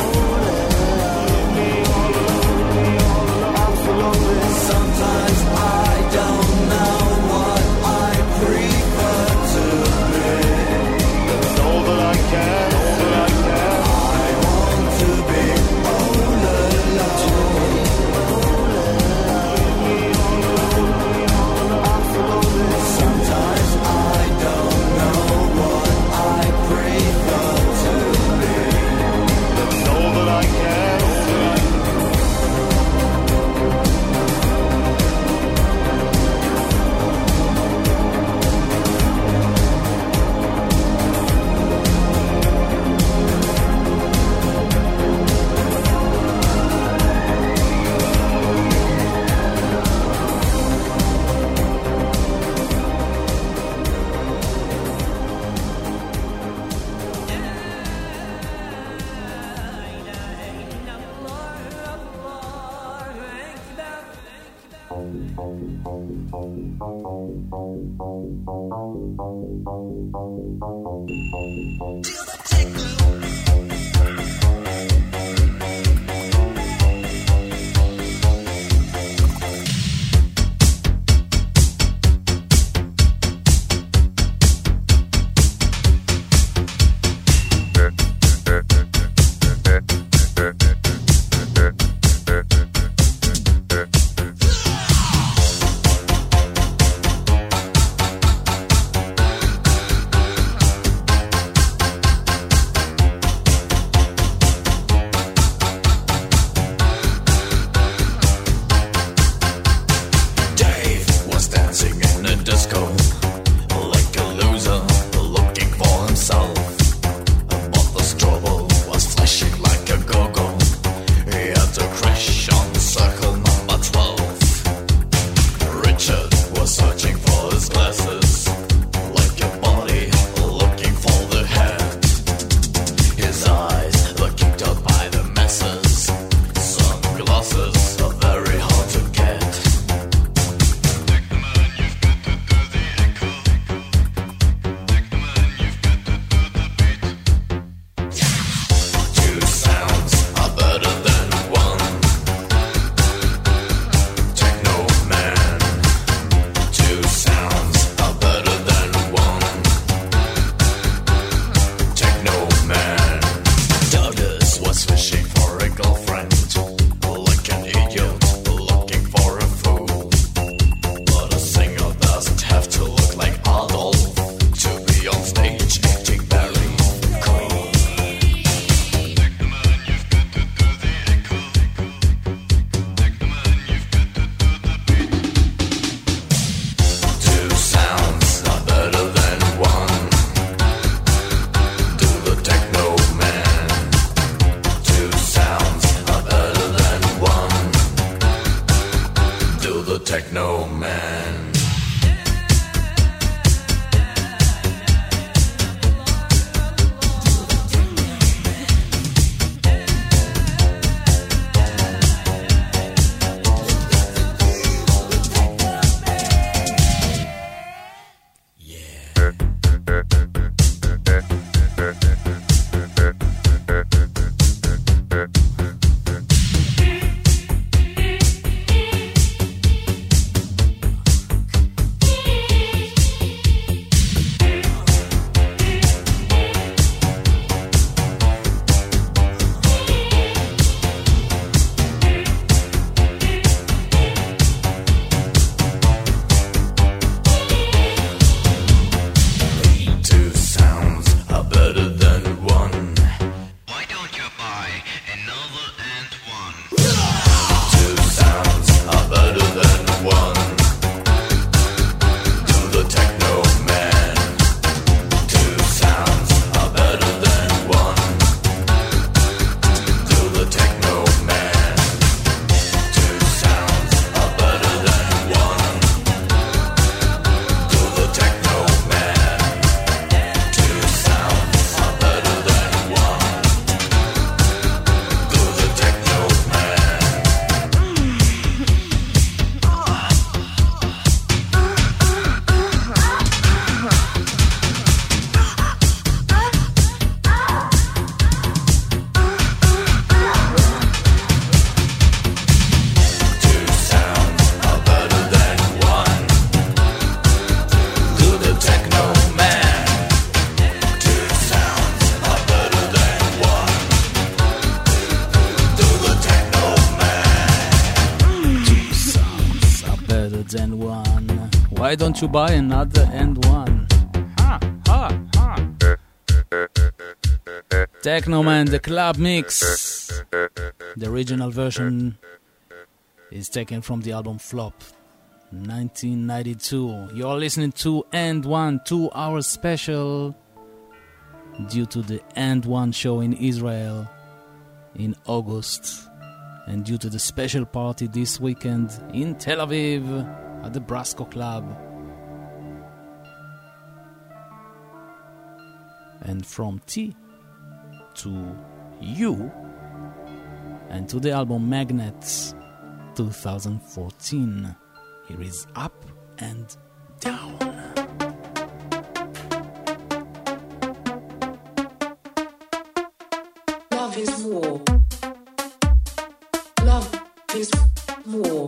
I'm so lonely. Sometimes I don't know what I prefer to be. That's all that I can. I want to be all alone. I'm so lonely. Sometimes I don't know what I prefer to be. That's all that I can. Why don't you buy another and one? Ha, ha, ha. Technoman, the club mix. The original version is taken from the album Flop, 1992. You're listening to And One 2-hour special due to the And One show in Israel in August, and due to the special party this weekend in Tel Aviv at the Brasco Club. And from T to U and to the album Magnets 2014. Here is Up and Down. Love is war. Love is war.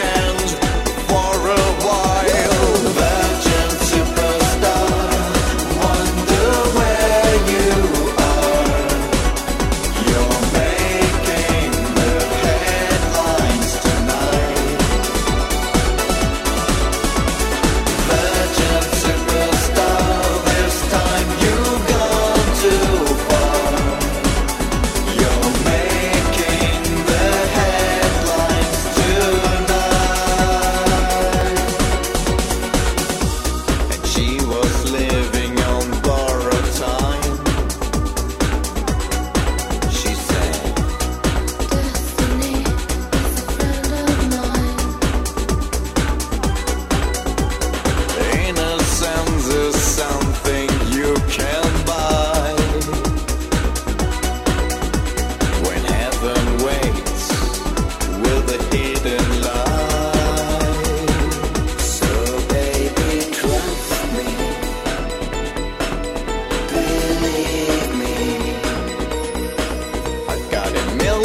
For a while, virgin superstar,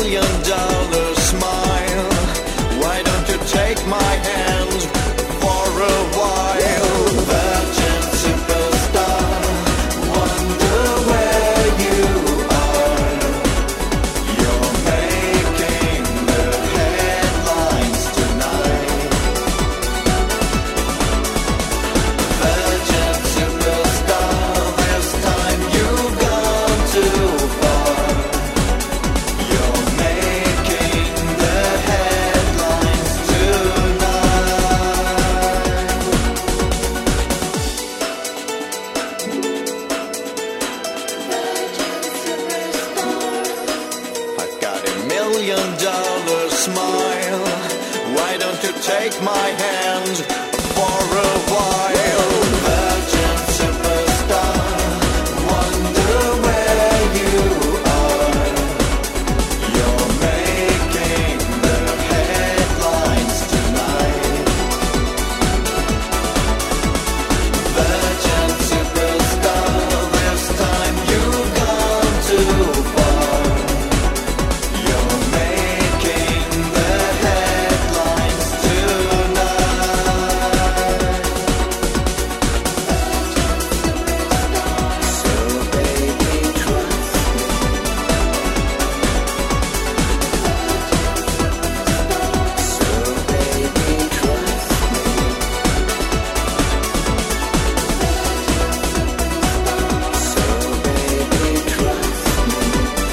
$1,000,000 smile. Why don't you take my hand for a while? Virgin superstar, wonder where you are. You're making the headlines tonight. Virgin superstar, this time you've gone too far. You're making the headlines tonight. I've got $1,000,000 smile. Why don't you take my hand for a while? Virgin superstar, wonder where you are. You're making the headlines tonight. Virgin superstar, this time you've gone too far. You're making the headlines tonight. So baby, trust me. So baby, trust me. So baby, trust me.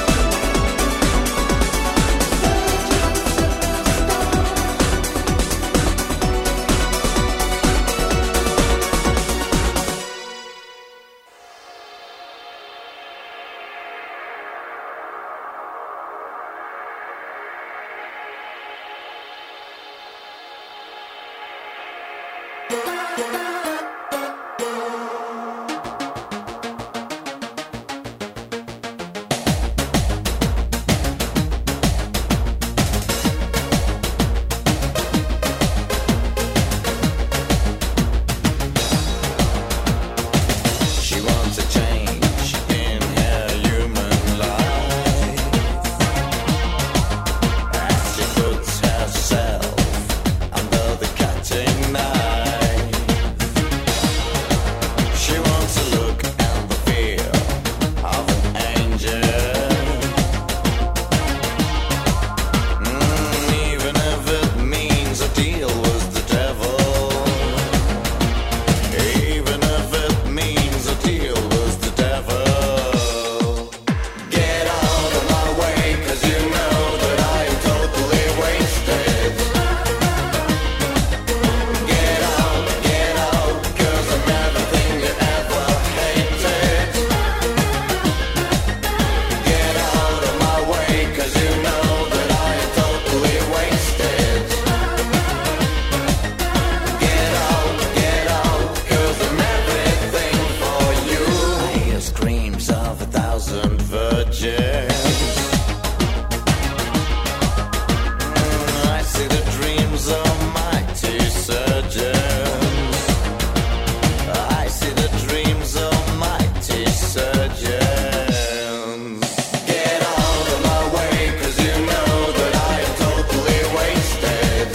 She wants a change in her human life as she puts herself under the cutting knife. She wants to look and the fear of an angel, even if it means a deal with the devil. Even if it means a deal with the devil. Get out of my way, 'cause you know that I am totally wasted. Get out, 'cause I'm everything you ever hated. Get out of my way, 'cause you know that I am totally wasted. Get out, 'cause I'm everything for you. I hear screams of 1,000 virgins. I see the dreams of mighty surgeons. I see the dreams of mighty surgeons. Get out of my way, 'cause you know that I am totally wasted.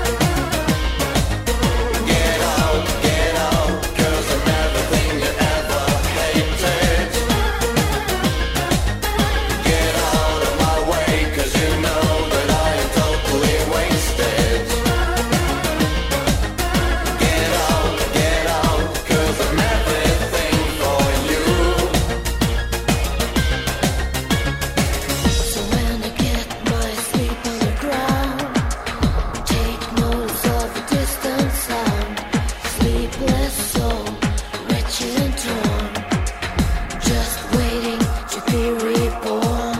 Get out, 'cause I'm everything you ever hated. Get out of my way, 'cause you know that I am totally wasted. Get out, 'cause I'm everything for you. So when I get my sleep on the ground, take notice of a distant sound. Sleepless soul, wretched and torn, just waiting to be reborn.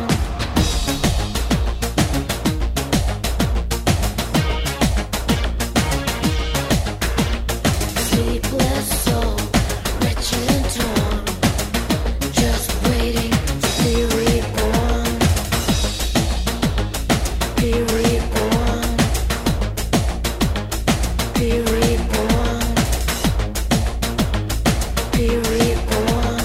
Sleepless soul, wretched and torn, just waiting to be reborn. Be reborn. Be reborn. Be reborn.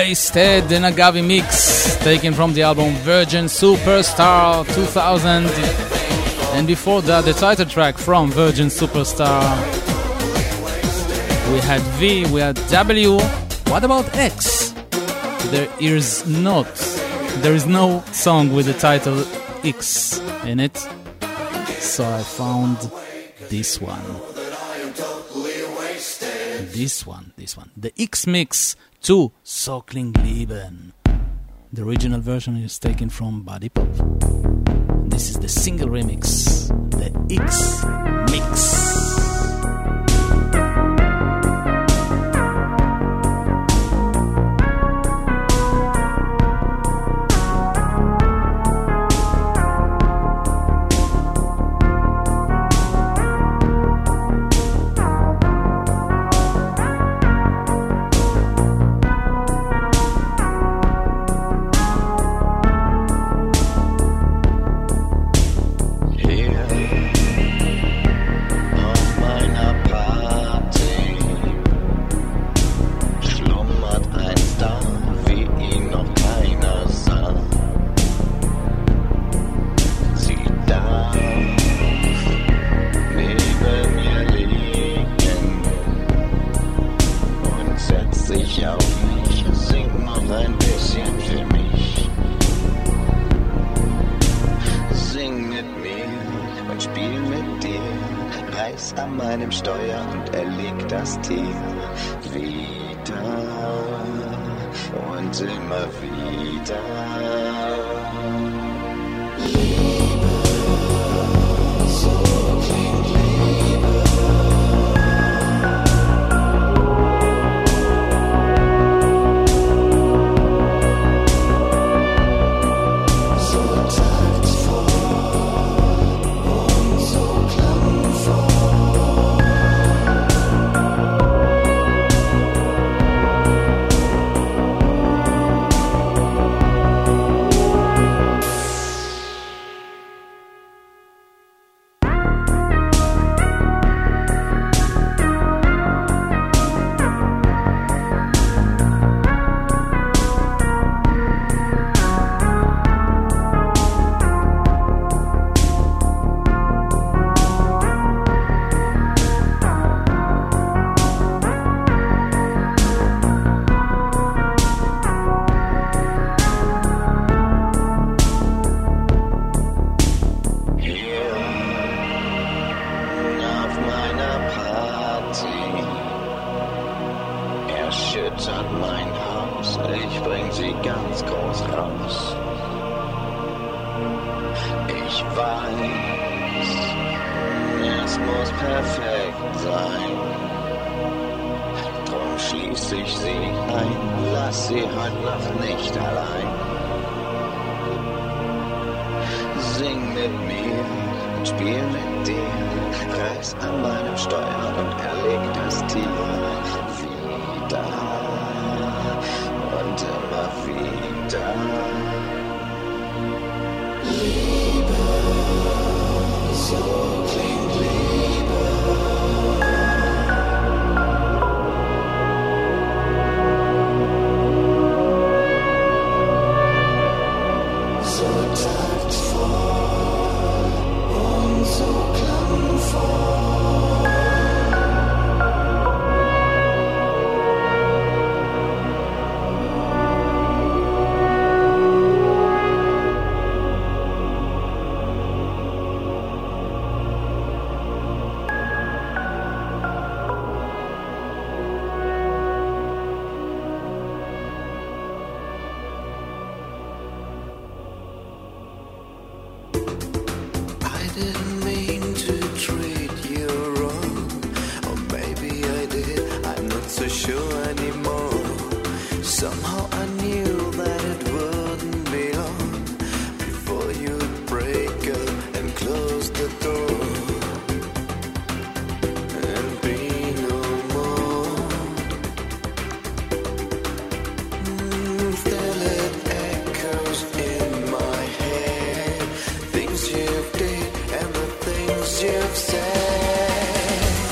Wasted, an Agavi mix taken from the album Virgin Superstar 2000. And before that, the title track from Virgin Superstar. We had V, we had W. What about X? There is no song with the title X in it. So I found this one. This one. The X Mix to So Klingt Leben. The original version is taken from Body Pop. This is the single remix, the X Mix.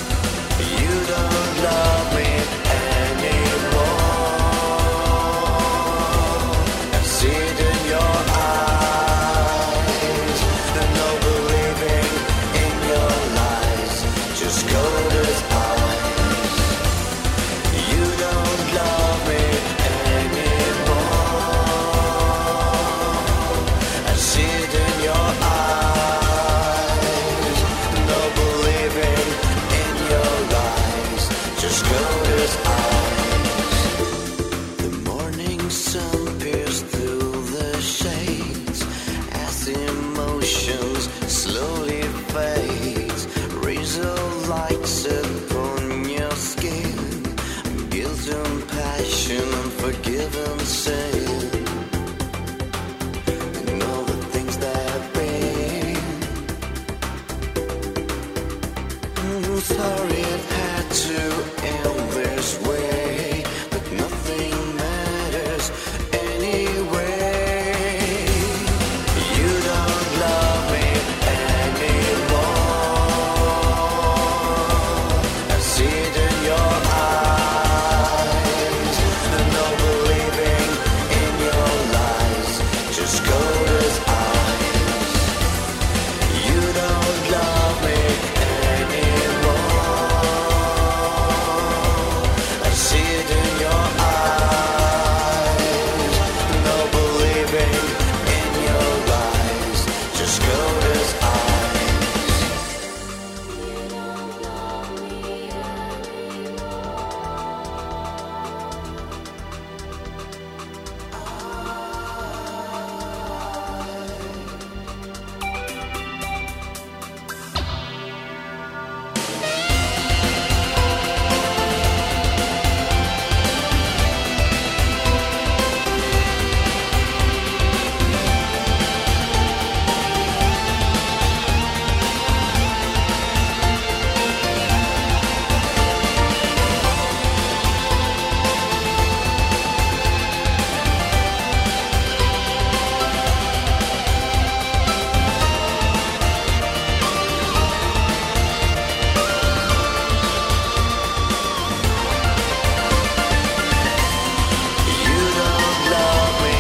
You don't love me anymore. even say and all the things that have been. Sorry it had to end this way, but nothing matters anyway. You don't love me anymore. I see it in your eyes. No believing in your lies, just Coda's eyes. You don't love me anymore. I see it in your eyes. No believing in your lies, just Coda's eyes. You don't love me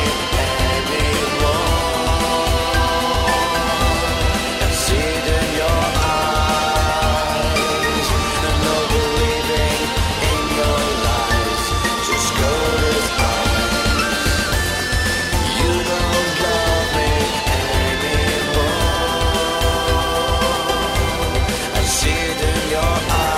anymore. I see it in your eyes. No believing in your lies, just Coda's eyes. You don't love me anymore. I see it in your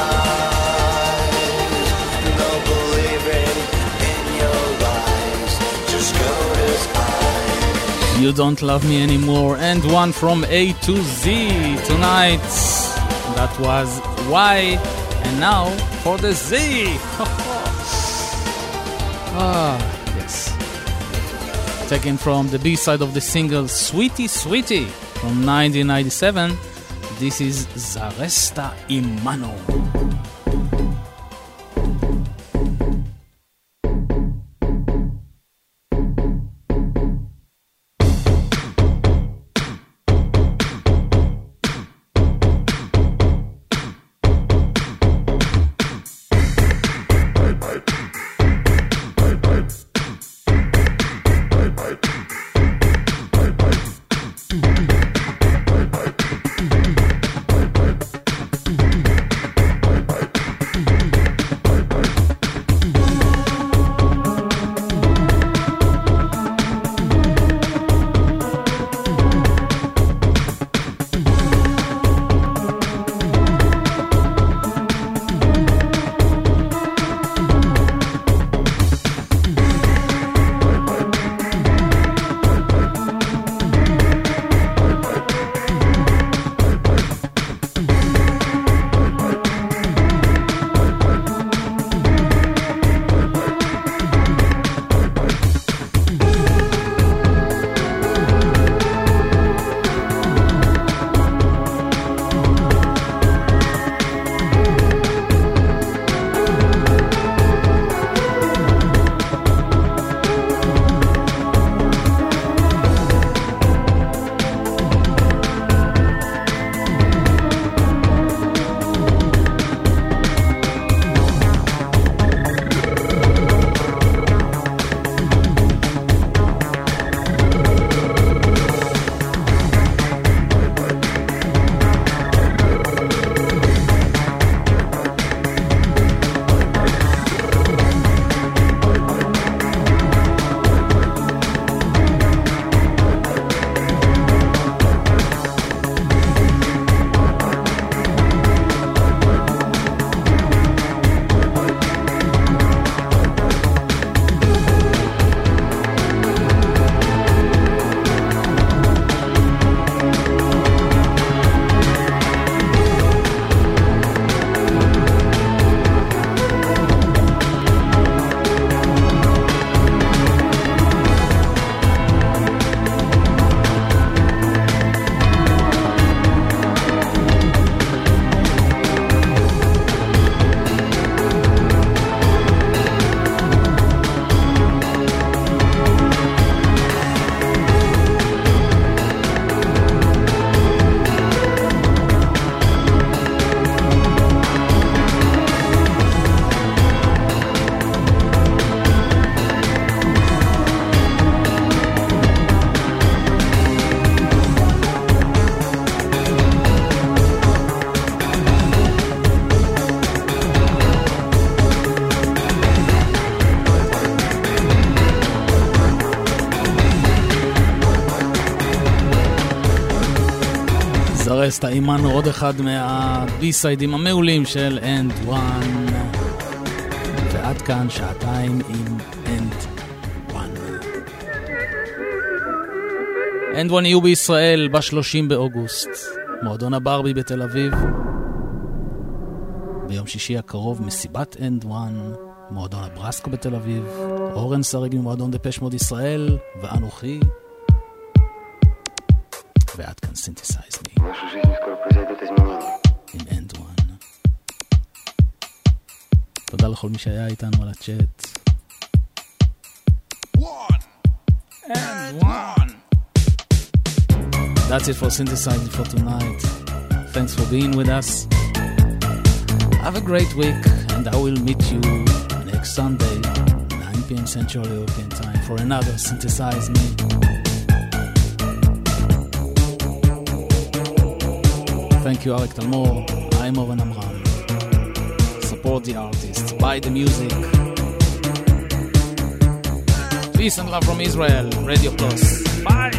eyes. No believing in your lies, just Coda's eyes. You Don't Love Me Anymore, and one from A to Z tonight. That was Y, and now for the Z. Yes. Taken from the B-side of the single Sweetie Sweetie from 1997. This is Zaresta Imano. נזרס, טעימנו עוד אחד מהבי-סיידים המעולים של End One. ועד כאן שעתיים עם End One. End One יהיו בישראל ב-30 באוגוסט. מועדון הברבי בתל אביב. ביום שישי הקרוב מסיבת End One. מועדון הברסקו בתל אביב. אורן סרג ממועדון דפש מוד ישראל. ואנוכי. ועד כאן Synthesize Me. עם End One. תודה לכל מי שהיה איתנו על הצ'אט. And one. That's it for Synthesizing for tonight. Thanks for being with us. Have a great week, and I will meet you next Sunday, 9 p.m. Central European Time, for another Synthesize Me. Thank you, Arik Talmor. I'm Oren Amram. Support the artists, buy the music. Peace and love from Israel, Radio Plus. Bye!